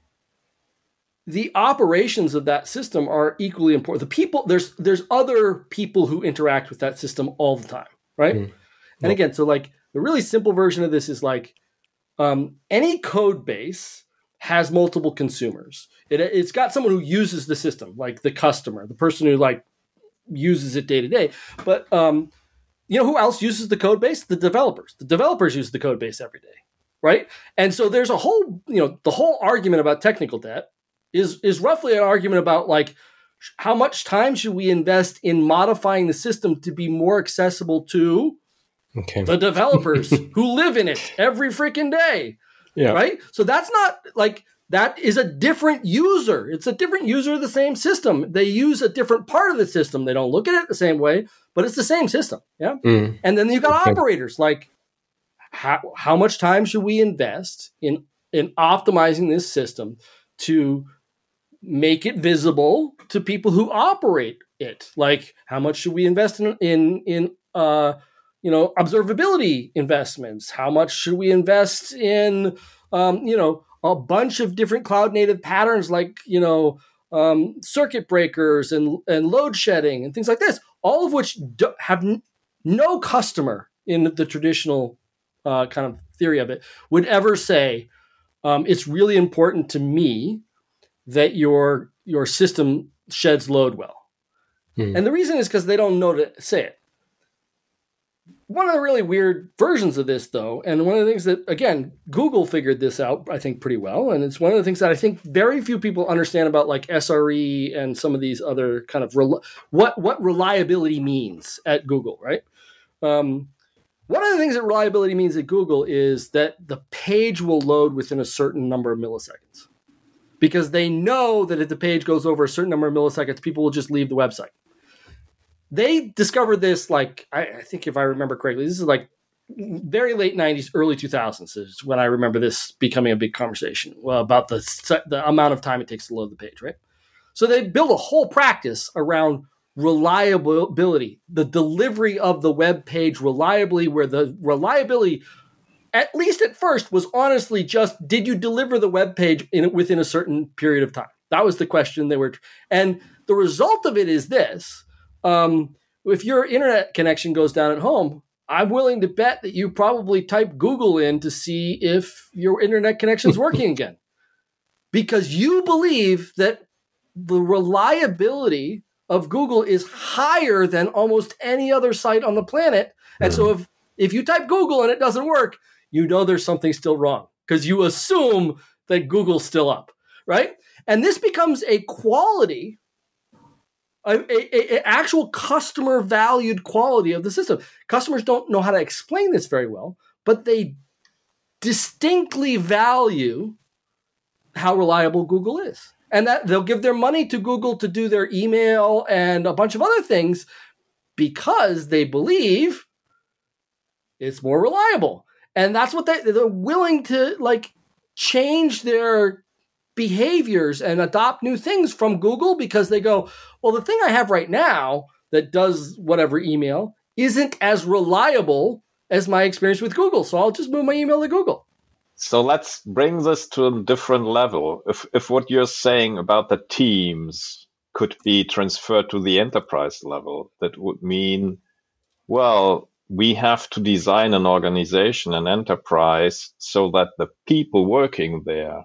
B: The operations of that system are equally important. The people, there's there's other people who interact with that system all the time, right? Mm. And again, so like the really simple version of this is like um, any code base has multiple consumers. It, it's got someone who uses the system, like the customer, the person who like uses it day to day. But um, you know who else uses the code base? The developers. The developers use the code base every day, right? And so there's a whole, you know, the whole argument about technical debt is is roughly an argument about like how much time should we invest in modifying the system to be more accessible to okay. the developers who live in it every freaking day, yeah. right? So that's not like, that is a different user. It's a different user of the same system. They use a different part of the system. They don't look at it the same way, but it's the same system, yeah? Mm. And then you've got okay. operators, like how, how much time should we invest in, in optimizing this system to make it visible to people who operate it? Like, how much should we invest in, in, in uh, you know, observability investments? How much should we invest in, um, you know, a bunch of different cloud native patterns like, you know, um, circuit breakers and, and load shedding and things like this, all of which do, have n- no customer in the traditional uh, kind of theory of it would ever say, um, it's really important to me that your your system sheds load well. Hmm. And the reason is because they don't know to say it. One of the really weird versions of this, though, and one of the things that, again, Google figured this out, I think, pretty well, and it's one of the things that I think very few people understand about, like, S R E and some of these other kind of, rel- what, what reliability means at Google, right? Um, one of the things that reliability means at Google is that the page will load within a certain number of milliseconds. because they know that if the page goes over a certain number of milliseconds, people will just leave the website. They discovered this, like, I, I think if I remember correctly, this is like very late nineties, early two thousands is when I remember this becoming a big conversation well, about the, the amount of time it takes to load the page, right? So they built a whole practice around reliability, the delivery of the web page reliably, where the reliability, at least at first, was honestly just, did you deliver the web page in, within a certain period of time? That was the question they were. And the result of it is this. Um, if your internet connection goes down at home, I'm willing to bet that you probably type Google in to see if your internet connection is working again, because you believe that the reliability of Google is higher than almost any other site on the planet. And so if, if you type Google and it doesn't work, you know there's something still wrong because you assume that Google's still up, right? And this becomes a quality, a, a, a actual customer valued quality of the system. Customers don't know how to explain this very well, but they distinctly value how reliable Google is. And that they'll give their money to Google to do their email and a bunch of other things because they believe it's more reliable. And that's what they, they're willing to like change their behaviors and adopt new things from Google because they go, well, the thing I have right now that does whatever email isn't as reliable as my experience with Google. So I'll just move my email to Google.
C: So let's bring this to a different level. If if what you're saying about the teams could be transferred to the enterprise level, that would mean, well, we have to design an organization, an enterprise, so that the people working there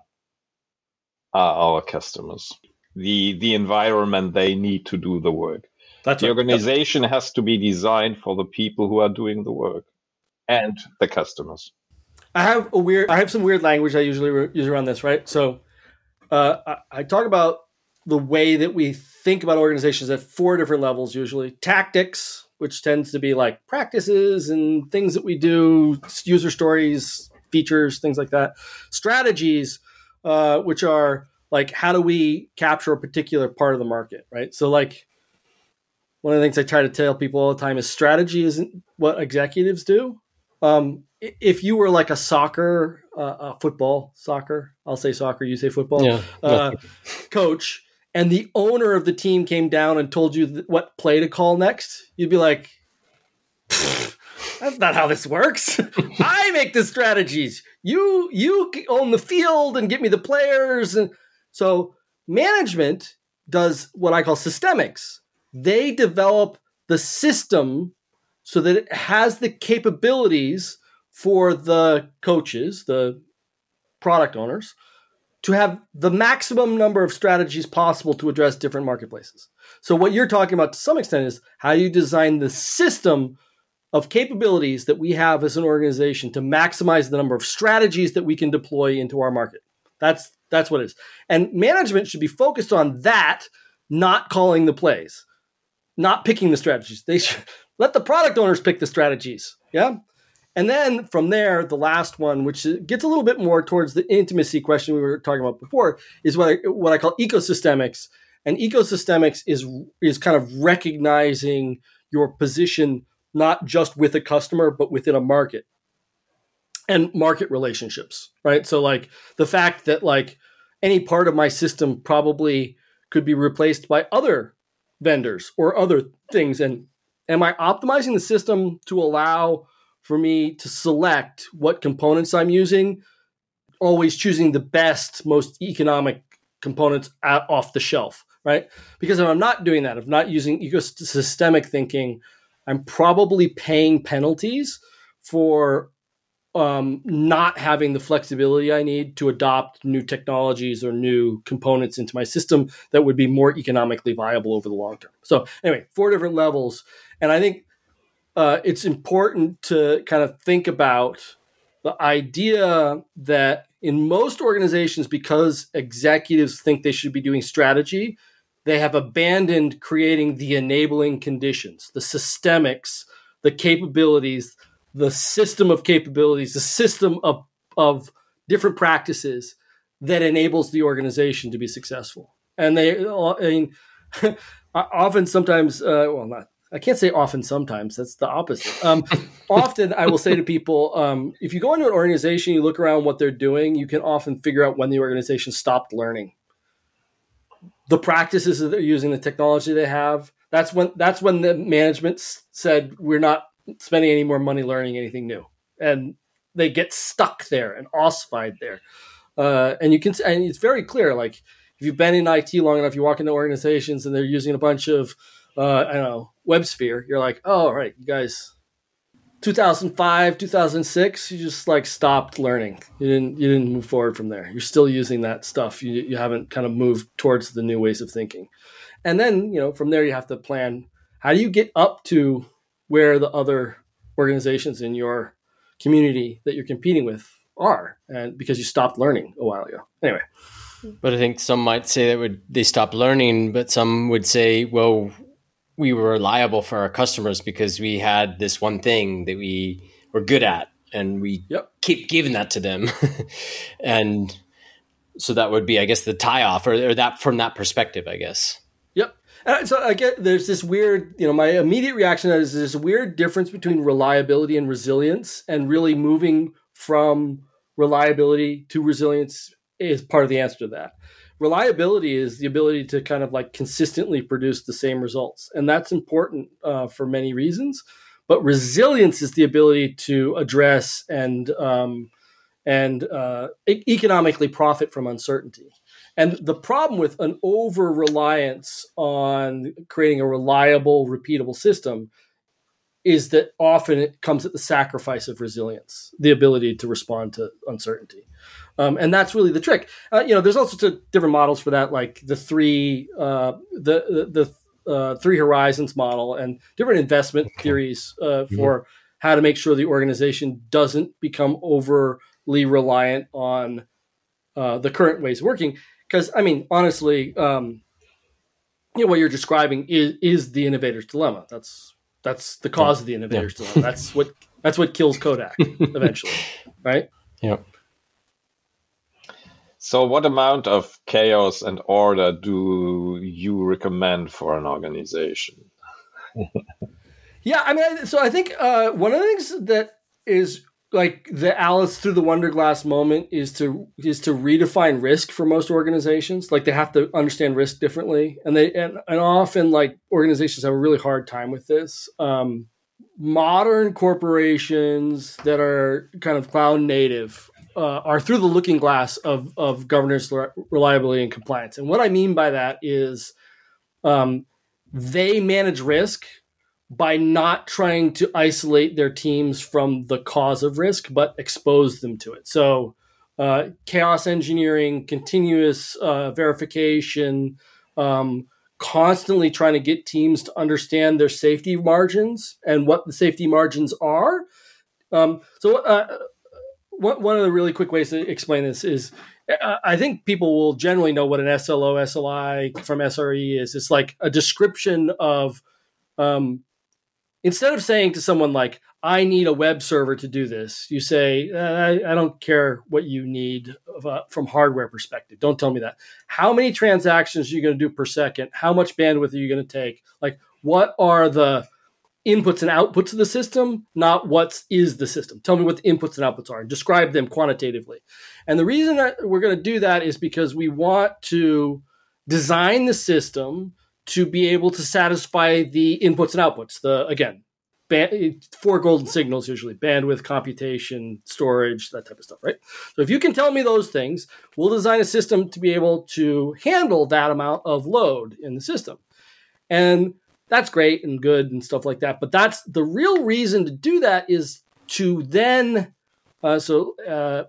C: are our customers. The the environment they need to do the work.
B: That's
C: the
B: right.
C: organization yep. has to be designed for the people who are doing the work and the customers.
B: I have a weird. I have some weird language I usually re- use around this, right? So, uh, I, I talk about the way that we think about organizations at four different levels. Usually, tactics, which tends to be like practices and things that we do, user stories, features, things like that. Strategies, uh, which are like how do we capture a particular part of the market, right? So, like one of the things I try to tell people all the time is strategy isn't what executives do. Um, if you were like a soccer, uh, a football, soccer, I'll say soccer, you say football,
A: yeah.
B: uh, coach, and the owner of the team came down and told you th- what play to call next, you'd be like, that's not how this works. I make the strategies. You, you own the field and get me the players. And so management does what I call systemics. They develop the system so that it has the capabilities for the coaches, the product owners, to have the maximum number of strategies possible to address different marketplaces. So what you're talking about to some extent is how you design the system of capabilities that we have as an organization to maximize the number of strategies that we can deploy into our market. That's that's what it is. And management should be focused on that, not calling the plays, not picking the strategies. They should let the product owners pick the strategies. Yeah. And then from there, the last one, which gets a little bit more towards the intimacy question we were talking about before, is what I, what I call ecosystemics. And ecosystemics is, is kind of recognizing your position, not just with a customer, but within a market and market relationships, right? So like the fact that like any part of my system probably could be replaced by other vendors or other things. And am I optimizing the system to allow for me to select what components I'm using, always choosing the best, most economic components out, off the shelf, right? Because if I'm not doing that, if I'm not using ecosystemic thinking, I'm probably paying penalties for um, not having the flexibility I need to adopt new technologies or new components into my system that would be more economically viable over the long term. So anyway, four different levels. And I think uh, it's important to kind of think about the idea that in most organizations, because executives think they should be doing strategy, they have abandoned creating the enabling conditions, the systemics, the capabilities, the system of capabilities, the system of, of different practices that enables the organization to be successful. And they, I mean, often, sometimes, uh, well, not, I can't say often, sometimes, that's the opposite. Um, often I will say to people, um, if you go into an organization, you look around what they're doing, you can often figure out when the organization stopped learning. The practices that they're using, the technology they have, that's when, that's when the management s- said, we're not spending any more money learning anything new. And they get stuck there and ossified there. Uh, and you can, and it's very clear, like if you've been in I T long enough, you walk into organizations and they're using a bunch of, uh, I don't know, WebSphere. You're like, oh, all right, you guys, two thousand five, two thousand six, you just like stopped learning. You didn't, you didn't move forward from there. You're still using that stuff. You, you haven't kind of moved towards the new ways of thinking. And then, you know, from there you have to plan, how do you get up to where the other organizations in your community that you're competing with are, and because you stopped learning a while ago. Anyway.
A: But I think some might say that would they stopped learning, but some would say, well, we were reliable for our customers because we had this one thing that we were good at, and we
B: yep.
A: keep giving that to them. And so that would be, I guess, the tie off, or, or that from that perspective, I guess.
B: Yep. And so I get there's this weird, you know, my immediate reaction to that is this weird difference between reliability and resilience, and really moving from reliability to resilience is part of the answer to that. Reliability is the ability to kind of like consistently produce the same results. And that's important uh, for many reasons. But resilience is the ability to address and um, and uh, e- economically profit from uncertainty. And the problem with an over-reliance on creating a reliable, repeatable system is that often it comes at the sacrifice of resilience, the ability to respond to uncertainty. Um, and that's really the trick. Uh, you know, there's also t- different models for that, like the three, uh, the the, the uh, three horizons model, and different investment okay. theories uh, for mm-hmm. how to make sure the organization doesn't become overly reliant on uh, the current ways of working. Because, I mean, honestly, um, you know, what you're describing is is the innovator's dilemma. That's that's the cause yeah. of the innovator's yeah. dilemma. That's what that's what kills Kodak eventually, right?
A: Yeah.
C: So what amount of chaos and order do you recommend for an organization?
B: yeah, I mean, so I think uh, one of the things that is like the Alice through the Wonder Glass moment is to is to redefine risk for most organizations. Like they have to understand risk differently, and they and, and often like organizations have a really hard time with this. Um, modern corporations that are kind of cloud native Uh, are through the looking glass of of governance, reliability, and compliance. And what I mean by that is um, they manage risk by not trying to isolate their teams from the cause of risk, but expose them to it. So uh, chaos engineering, continuous uh, verification, um, constantly trying to get teams to understand their safety margins and what the safety margins are. Um, so uh, One of the really quick ways to explain this is uh, I think people will generally know what an S L O, S L I from S R E is. It's like a description of, um, instead of saying to someone like, I need a web server to do this, you say, I, I don't care what you need of, uh, from hardware perspective. Don't tell me that. How many transactions are you going to do per second? How much bandwidth are you going to take? Like, what are the inputs and outputs of the system, not what is the system. Tell me what the inputs and outputs are and describe them quantitatively. And the reason that we're going to do that is because we want to design the system to be able to satisfy the inputs and outputs. The, again, band, four golden signals usually: bandwidth, computation, storage, that type of stuff, right? So if you can tell me those things, we'll design a system to be able to handle that amount of load in the system. And that's great and good and stuff like that. But that's the real reason to do that is to then, uh, so uh,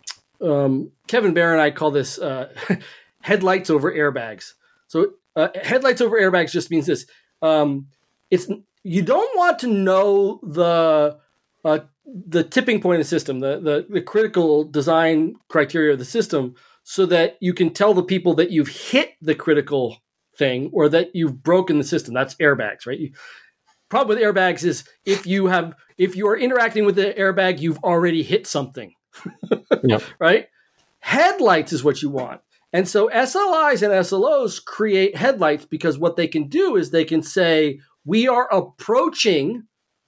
B: um, Kevin Bear and I call this uh, headlights over airbags. So uh, headlights over airbags just means this. Um, it's you don't want to know the uh, the tipping point of the system, the, the the critical design criteria of the system, so that you can tell the people that you've hit the critical thing or that you've broken the system. That's airbags, right? You, problem with airbags is if you have if you are interacting with the airbag, you've already hit something,
A: yep.
B: right? Headlights is what you want. And so S L Is and S L Os create headlights because what they can do is they can say, we are approaching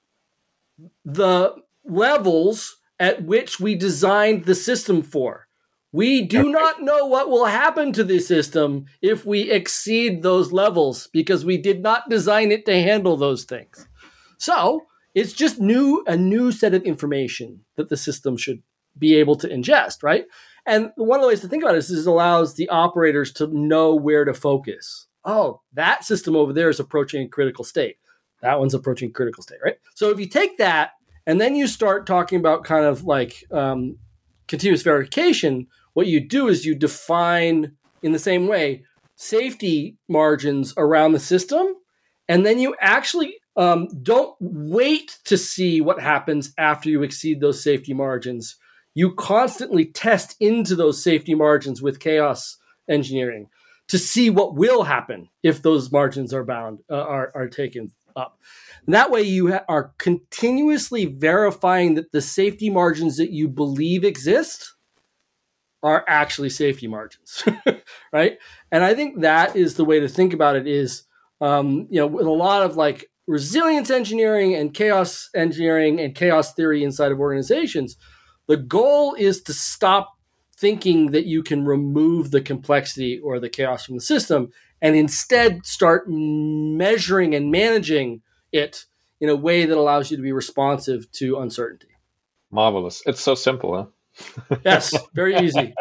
B: the levels at which we designed the system for. We do okay. not know what will happen to the system if we exceed those levels because we did not design it to handle those things. So it's just new a new set of information that the system should be able to ingest, right? And one of the ways to think about it is it allows the operators to know where to focus. Oh, that system over there is approaching a critical state. That one's approaching critical state, right? So if you take that and then you start talking about kind of like um, continuous verification, what you do is you define in the same way safety margins around the system, and then you actually um, don't wait to see what happens after you exceed those safety margins. You constantly test into those safety margins with chaos engineering to see what will happen if those margins are bound, uh, are, are taken up. And that way you ha- are continuously verifying that the safety margins that you believe exist are actually safety margins, right? And I think that is the way to think about it is, um, you know, with a lot of like resilience engineering and chaos engineering and chaos theory inside of organizations, the goal is to stop thinking that you can remove the complexity or the chaos from the system and instead start measuring and managing it in a way that allows you to be responsive to uncertainty.
C: Marvelous. It's so simple, huh?
B: Yes, very easy.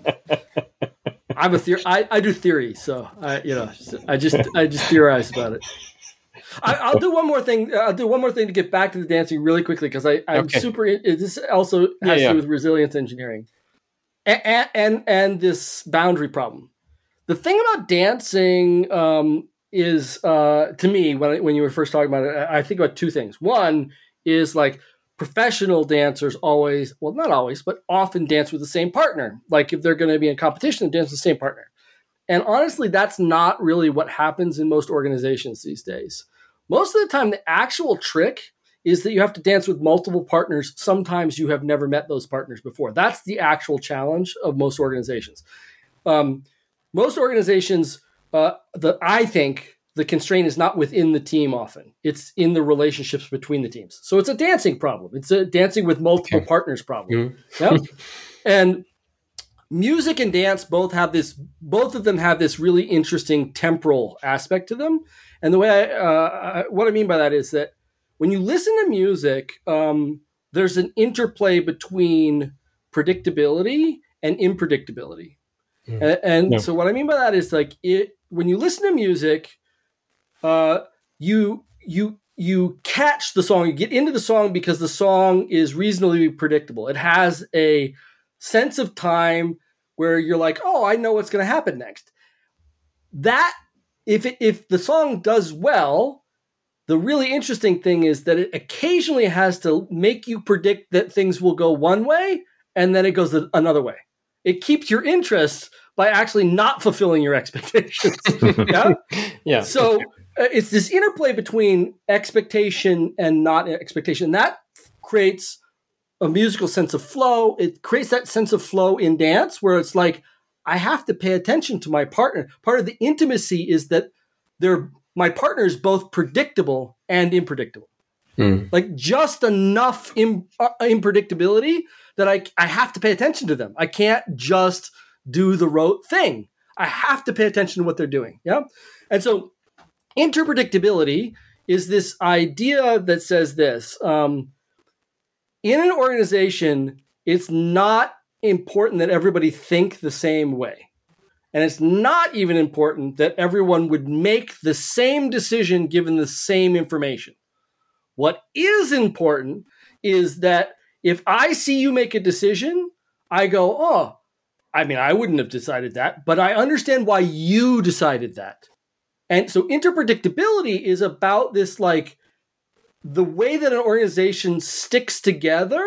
B: I'm a theor- I, I do theory, so I you know I just I just theorize about it. I, I'll do one more thing. I'll do one more thing to get back to the dancing really quickly because I I'm okay. super. This also has yeah, yeah. to do with resilience engineering, and, and and this boundary problem. The thing about dancing um, is uh, to me when I, when you were first talking about it, I think about two things. One is like professional dancers always, well, not always, but often dance with the same partner. Like if they're going to be in competition, dance with the same partner. And honestly, that's not really what happens in most organizations these days. Most of the time, the actual trick is that you have to dance with multiple partners. Sometimes you have never met those partners before. That's the actual challenge of most organizations. Um, most organizations, uh, the, I think the constraint is not within the team often. It's in the relationships between the teams. So it's a dancing problem. It's a dancing with multiple okay. partners problem. Mm-hmm. Yeah? And music and dance both have this, both of them have this really interesting temporal aspect to them. And the way I, uh, what I mean by that is that when you listen to music, um, there's an interplay between predictability and unpredictability. Mm. And, and no. so what I mean by that is like it, when you listen to music, uh, you, you, you catch the song, you get into the song because the song is reasonably predictable. It has a sense of time where you're like, oh, I know what's going to happen next. That, if it, if the song does well, the really interesting thing is that it occasionally has to make you predict that things will go one way and then it goes another way. It keeps your interest by actually not fulfilling your expectations. yeah?
A: Yeah.
B: So uh, it's this interplay between expectation and not expectation. That creates a musical sense of flow. It creates that sense of flow in dance where it's like, I have to pay attention to my partner. Part of the intimacy is that they're, my partner is both predictable and unpredictable. Mm. Like just enough in, uh, unpredictability that I, I have to pay attention to them. I can't just do the rote thing. I have to pay attention to what they're doing. Yeah. And so unpredictability is this idea that says this, um, in an organization, it's not important that everybody think the same way. And it's not even important that everyone would make the same decision given the same information. What is important is that if I see you make a decision, I go, oh, I mean, I wouldn't have decided that, but I understand why you decided that. And so interpredictability is about this, like, the way that an organization sticks together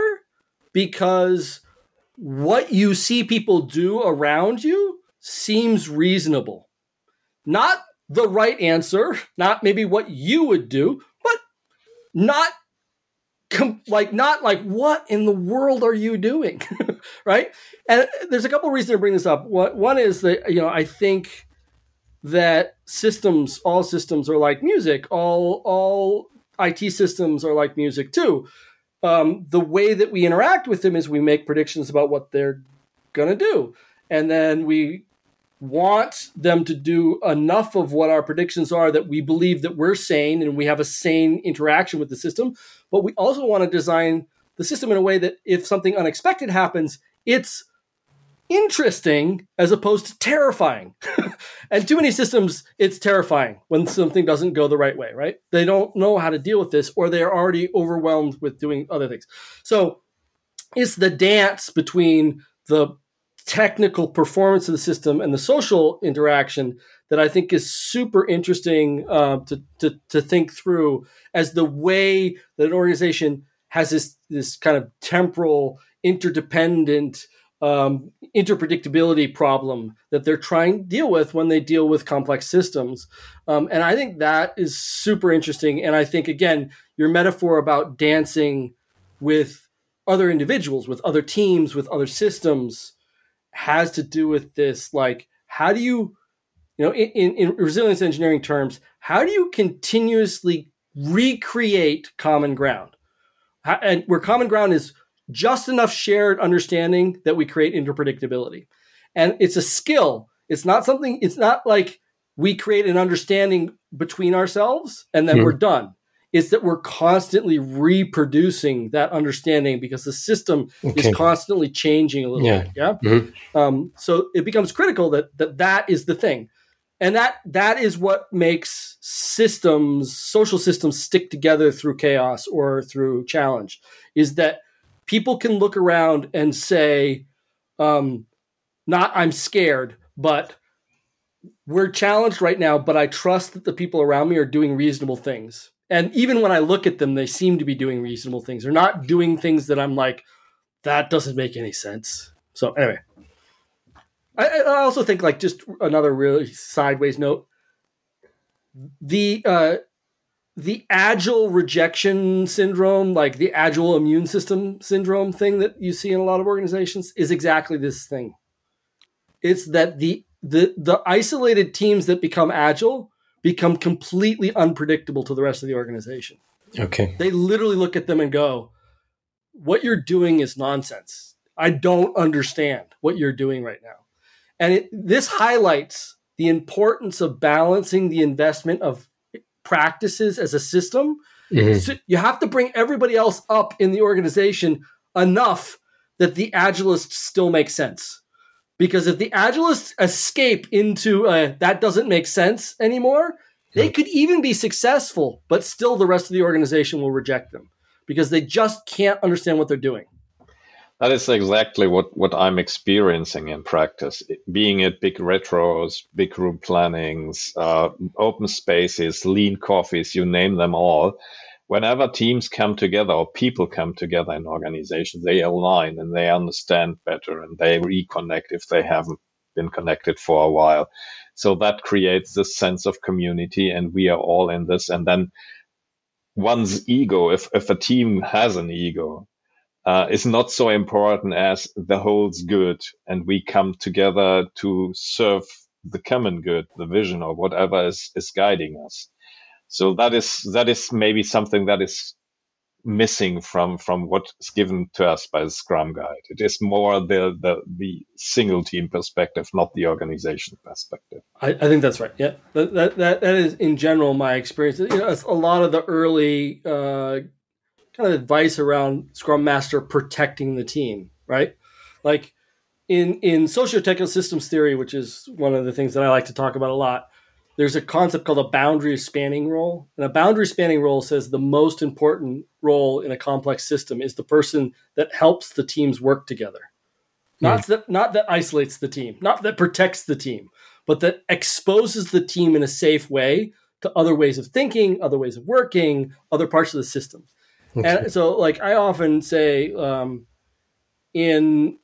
B: because what you see people do around you seems reasonable. Not the right answer, not maybe what you would do, but not com- like not like what in the world are you doing? right? And there's a couple of reasons to bring this up. One is that, you know, I think that systems, all systems are like music. All all I T systems are like music too. Um, the way that we interact with them is we make predictions about what they're going to do. And then we want them to do enough of what our predictions are that we believe that we're sane and we have a sane interaction with the system. But we also want to design the system in a way that if something unexpected happens, it's interesting as opposed to terrifying. And too many systems, it's terrifying when something doesn't go the right way, right? They don't know how to deal with this, or they're already overwhelmed with doing other things. So it's the dance between the technical performance of the system and the social interaction that I think is super interesting uh, to, to to think through as the way that an organization has this this kind of temporal, interdependent, um, interpredictability problem that they're trying to deal with when they deal with complex systems. Um, and I think that is super interesting. And I think, again, your metaphor about dancing with other individuals, with other teams, with other systems has to do with this. Like, how do you, you know, in, in resilience engineering terms, how do you continuously recreate common ground? How, and where common ground is just enough shared understanding that we create interpredictability. And it's a skill. It's not something, it's not like we create an understanding between ourselves and then mm-hmm. we're done. It's that we're constantly reproducing that understanding because the system okay. is constantly changing a little yeah. bit. Yeah. Mm-hmm. Um, so it becomes critical that, that that is the thing. And that that is what makes systems, social systems, stick together through chaos or through challenge, is that people can look around and say, um, not I'm scared, but we're challenged right now, but I trust that the people around me are doing reasonable things. And even when I look at them, they seem to be doing reasonable things. They're not doing things that I'm like, that doesn't make any sense. So anyway, I, I also think, like, just another really sideways note, the uh, the agile rejection syndrome, like the agile immune system syndrome thing that you see in a lot of organizations, is exactly this thing. It's that the the the isolated teams that become agile become completely unpredictable to the rest of the organization.
A: Okay.
B: They literally look at them and go, what you're doing is nonsense. I don't understand what you're doing right now. And it, this highlights the importance of balancing the investment of practices as a system. Mm-hmm. So you have to bring everybody else up in the organization enough that the agilists still make sense. Because if the agilists escape into a, that doesn't make sense anymore, they could even be successful, but still the rest of the organization will reject them because they just can't understand what they're doing.
C: That is exactly what, what I'm experiencing in practice, being at big retros, big group plannings, uh, open spaces, lean coffees, you name them all. Whenever teams come together or people come together in organizations, they align and they understand better and they reconnect if they haven't been connected for a while. So that creates this sense of community and we are all in this. And then one's ego, if, if a team has an ego, uh, is not so important as the whole's good and we come together to serve the common good, the vision or whatever is, is guiding us. So that is that is maybe something that is missing from, from what's given to us by the Scrum Guide. It is more the the, the single team perspective, not the organization perspective.
B: I, I think that's right. Yeah, that, that that that is in general my experience. You know, a lot of the early uh, kind of advice around Scrum Master protecting the team, right? Like in in socio-technical systems theory, which is one of the things that I like to talk about a lot. There's a concept called a boundary spanning role. And a boundary spanning role says the most important role in a complex system is the person that helps the teams work together. Not mm. that not that isolates the team, not that protects the team, but that exposes the team in a safe way to other ways of thinking, other ways of working, other parts of the system. Okay. And so, like, I often say um, in,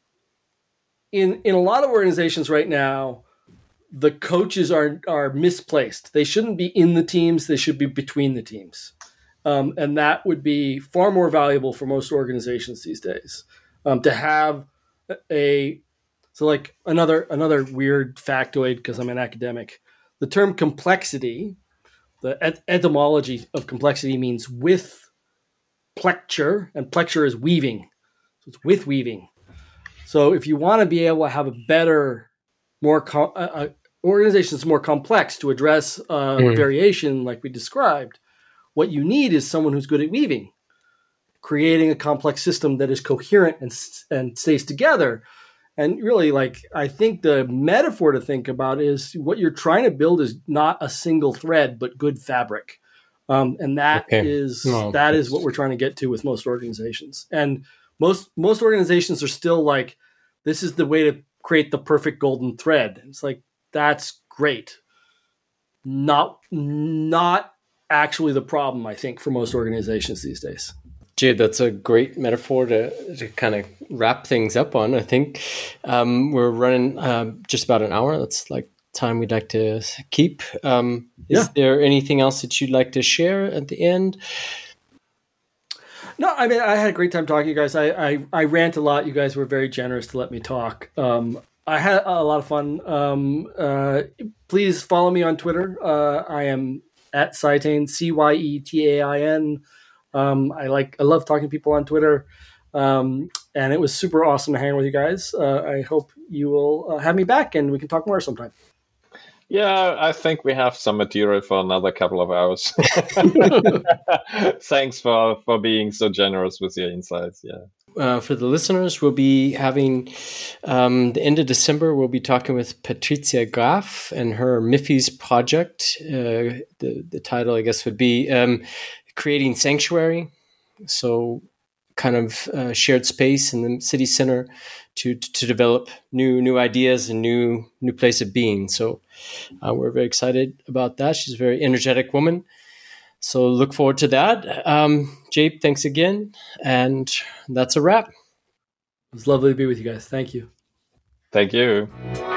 B: in, in a lot of organizations right now, the coaches are are misplaced. They shouldn't be in the teams. They should be between the teams. Um, and that would be far more valuable for most organizations these days, um, to have a so like another another weird factoid because I'm an academic. The term complexity, the et- etymology of complexity means with plecture, and plecture is weaving. So it's with weaving. So if you want to be able to have a better, more com- uh, organization that's more complex to address uh, mm. variation like we described, what you need is someone who's good at weaving, creating a complex system that is coherent and and stays together. And really, like, I think the metaphor to think about is what you're trying to build is not a single thread, but good fabric. Um, and that okay. is no. that is what we're trying to get to with most organizations. And most most organizations are still like, this is the way to create the perfect golden thread. It's like, that's great. Not not actually the problem, I think, for most organizations these days.
A: Jade, that's a great metaphor to, to kind of wrap things up on. I think um, we're running uh, just about an hour. That's like time we'd like to keep. Um, is yeah. there anything else that you'd like to share at the end?
B: No, I mean, I had a great time talking to you guys. I, I, I rant a lot. You guys were very generous to let me talk. Um, I had a lot of fun. Um, uh, please follow me on Twitter. Uh, I am at Cyetain, C Y E T A I N. Um, I like, I love talking to people on Twitter. Um, and it was super awesome to hang with you guys. Uh, I hope you will uh, have me back and we can talk more sometime.
C: Yeah, I think we have some material for another couple of hours. Thanks for, for being so generous with your insights. Yeah.
A: Uh, for the listeners, we'll be having um, the end of December. We'll be talking with Patricia Graf and her MIFI's project. Uh, the the title, I guess, would be um, Creating Sanctuary. So, kind of uh, shared space in the city center to to develop new new ideas and new new place of being. So, uh, we're very excited about that. She's a very energetic woman. So look forward to that. Um, Jabe, thanks again. And that's a wrap.
B: It was lovely to be with you guys. Thank you.
C: Thank you.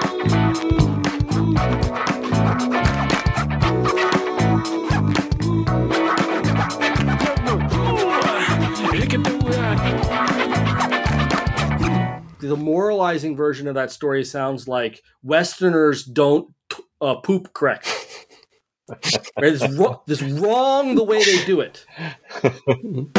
B: The moralizing version of that story sounds like Westerners don't uh, poop correct. Right? It's, wrong, it's wrong the way they do it.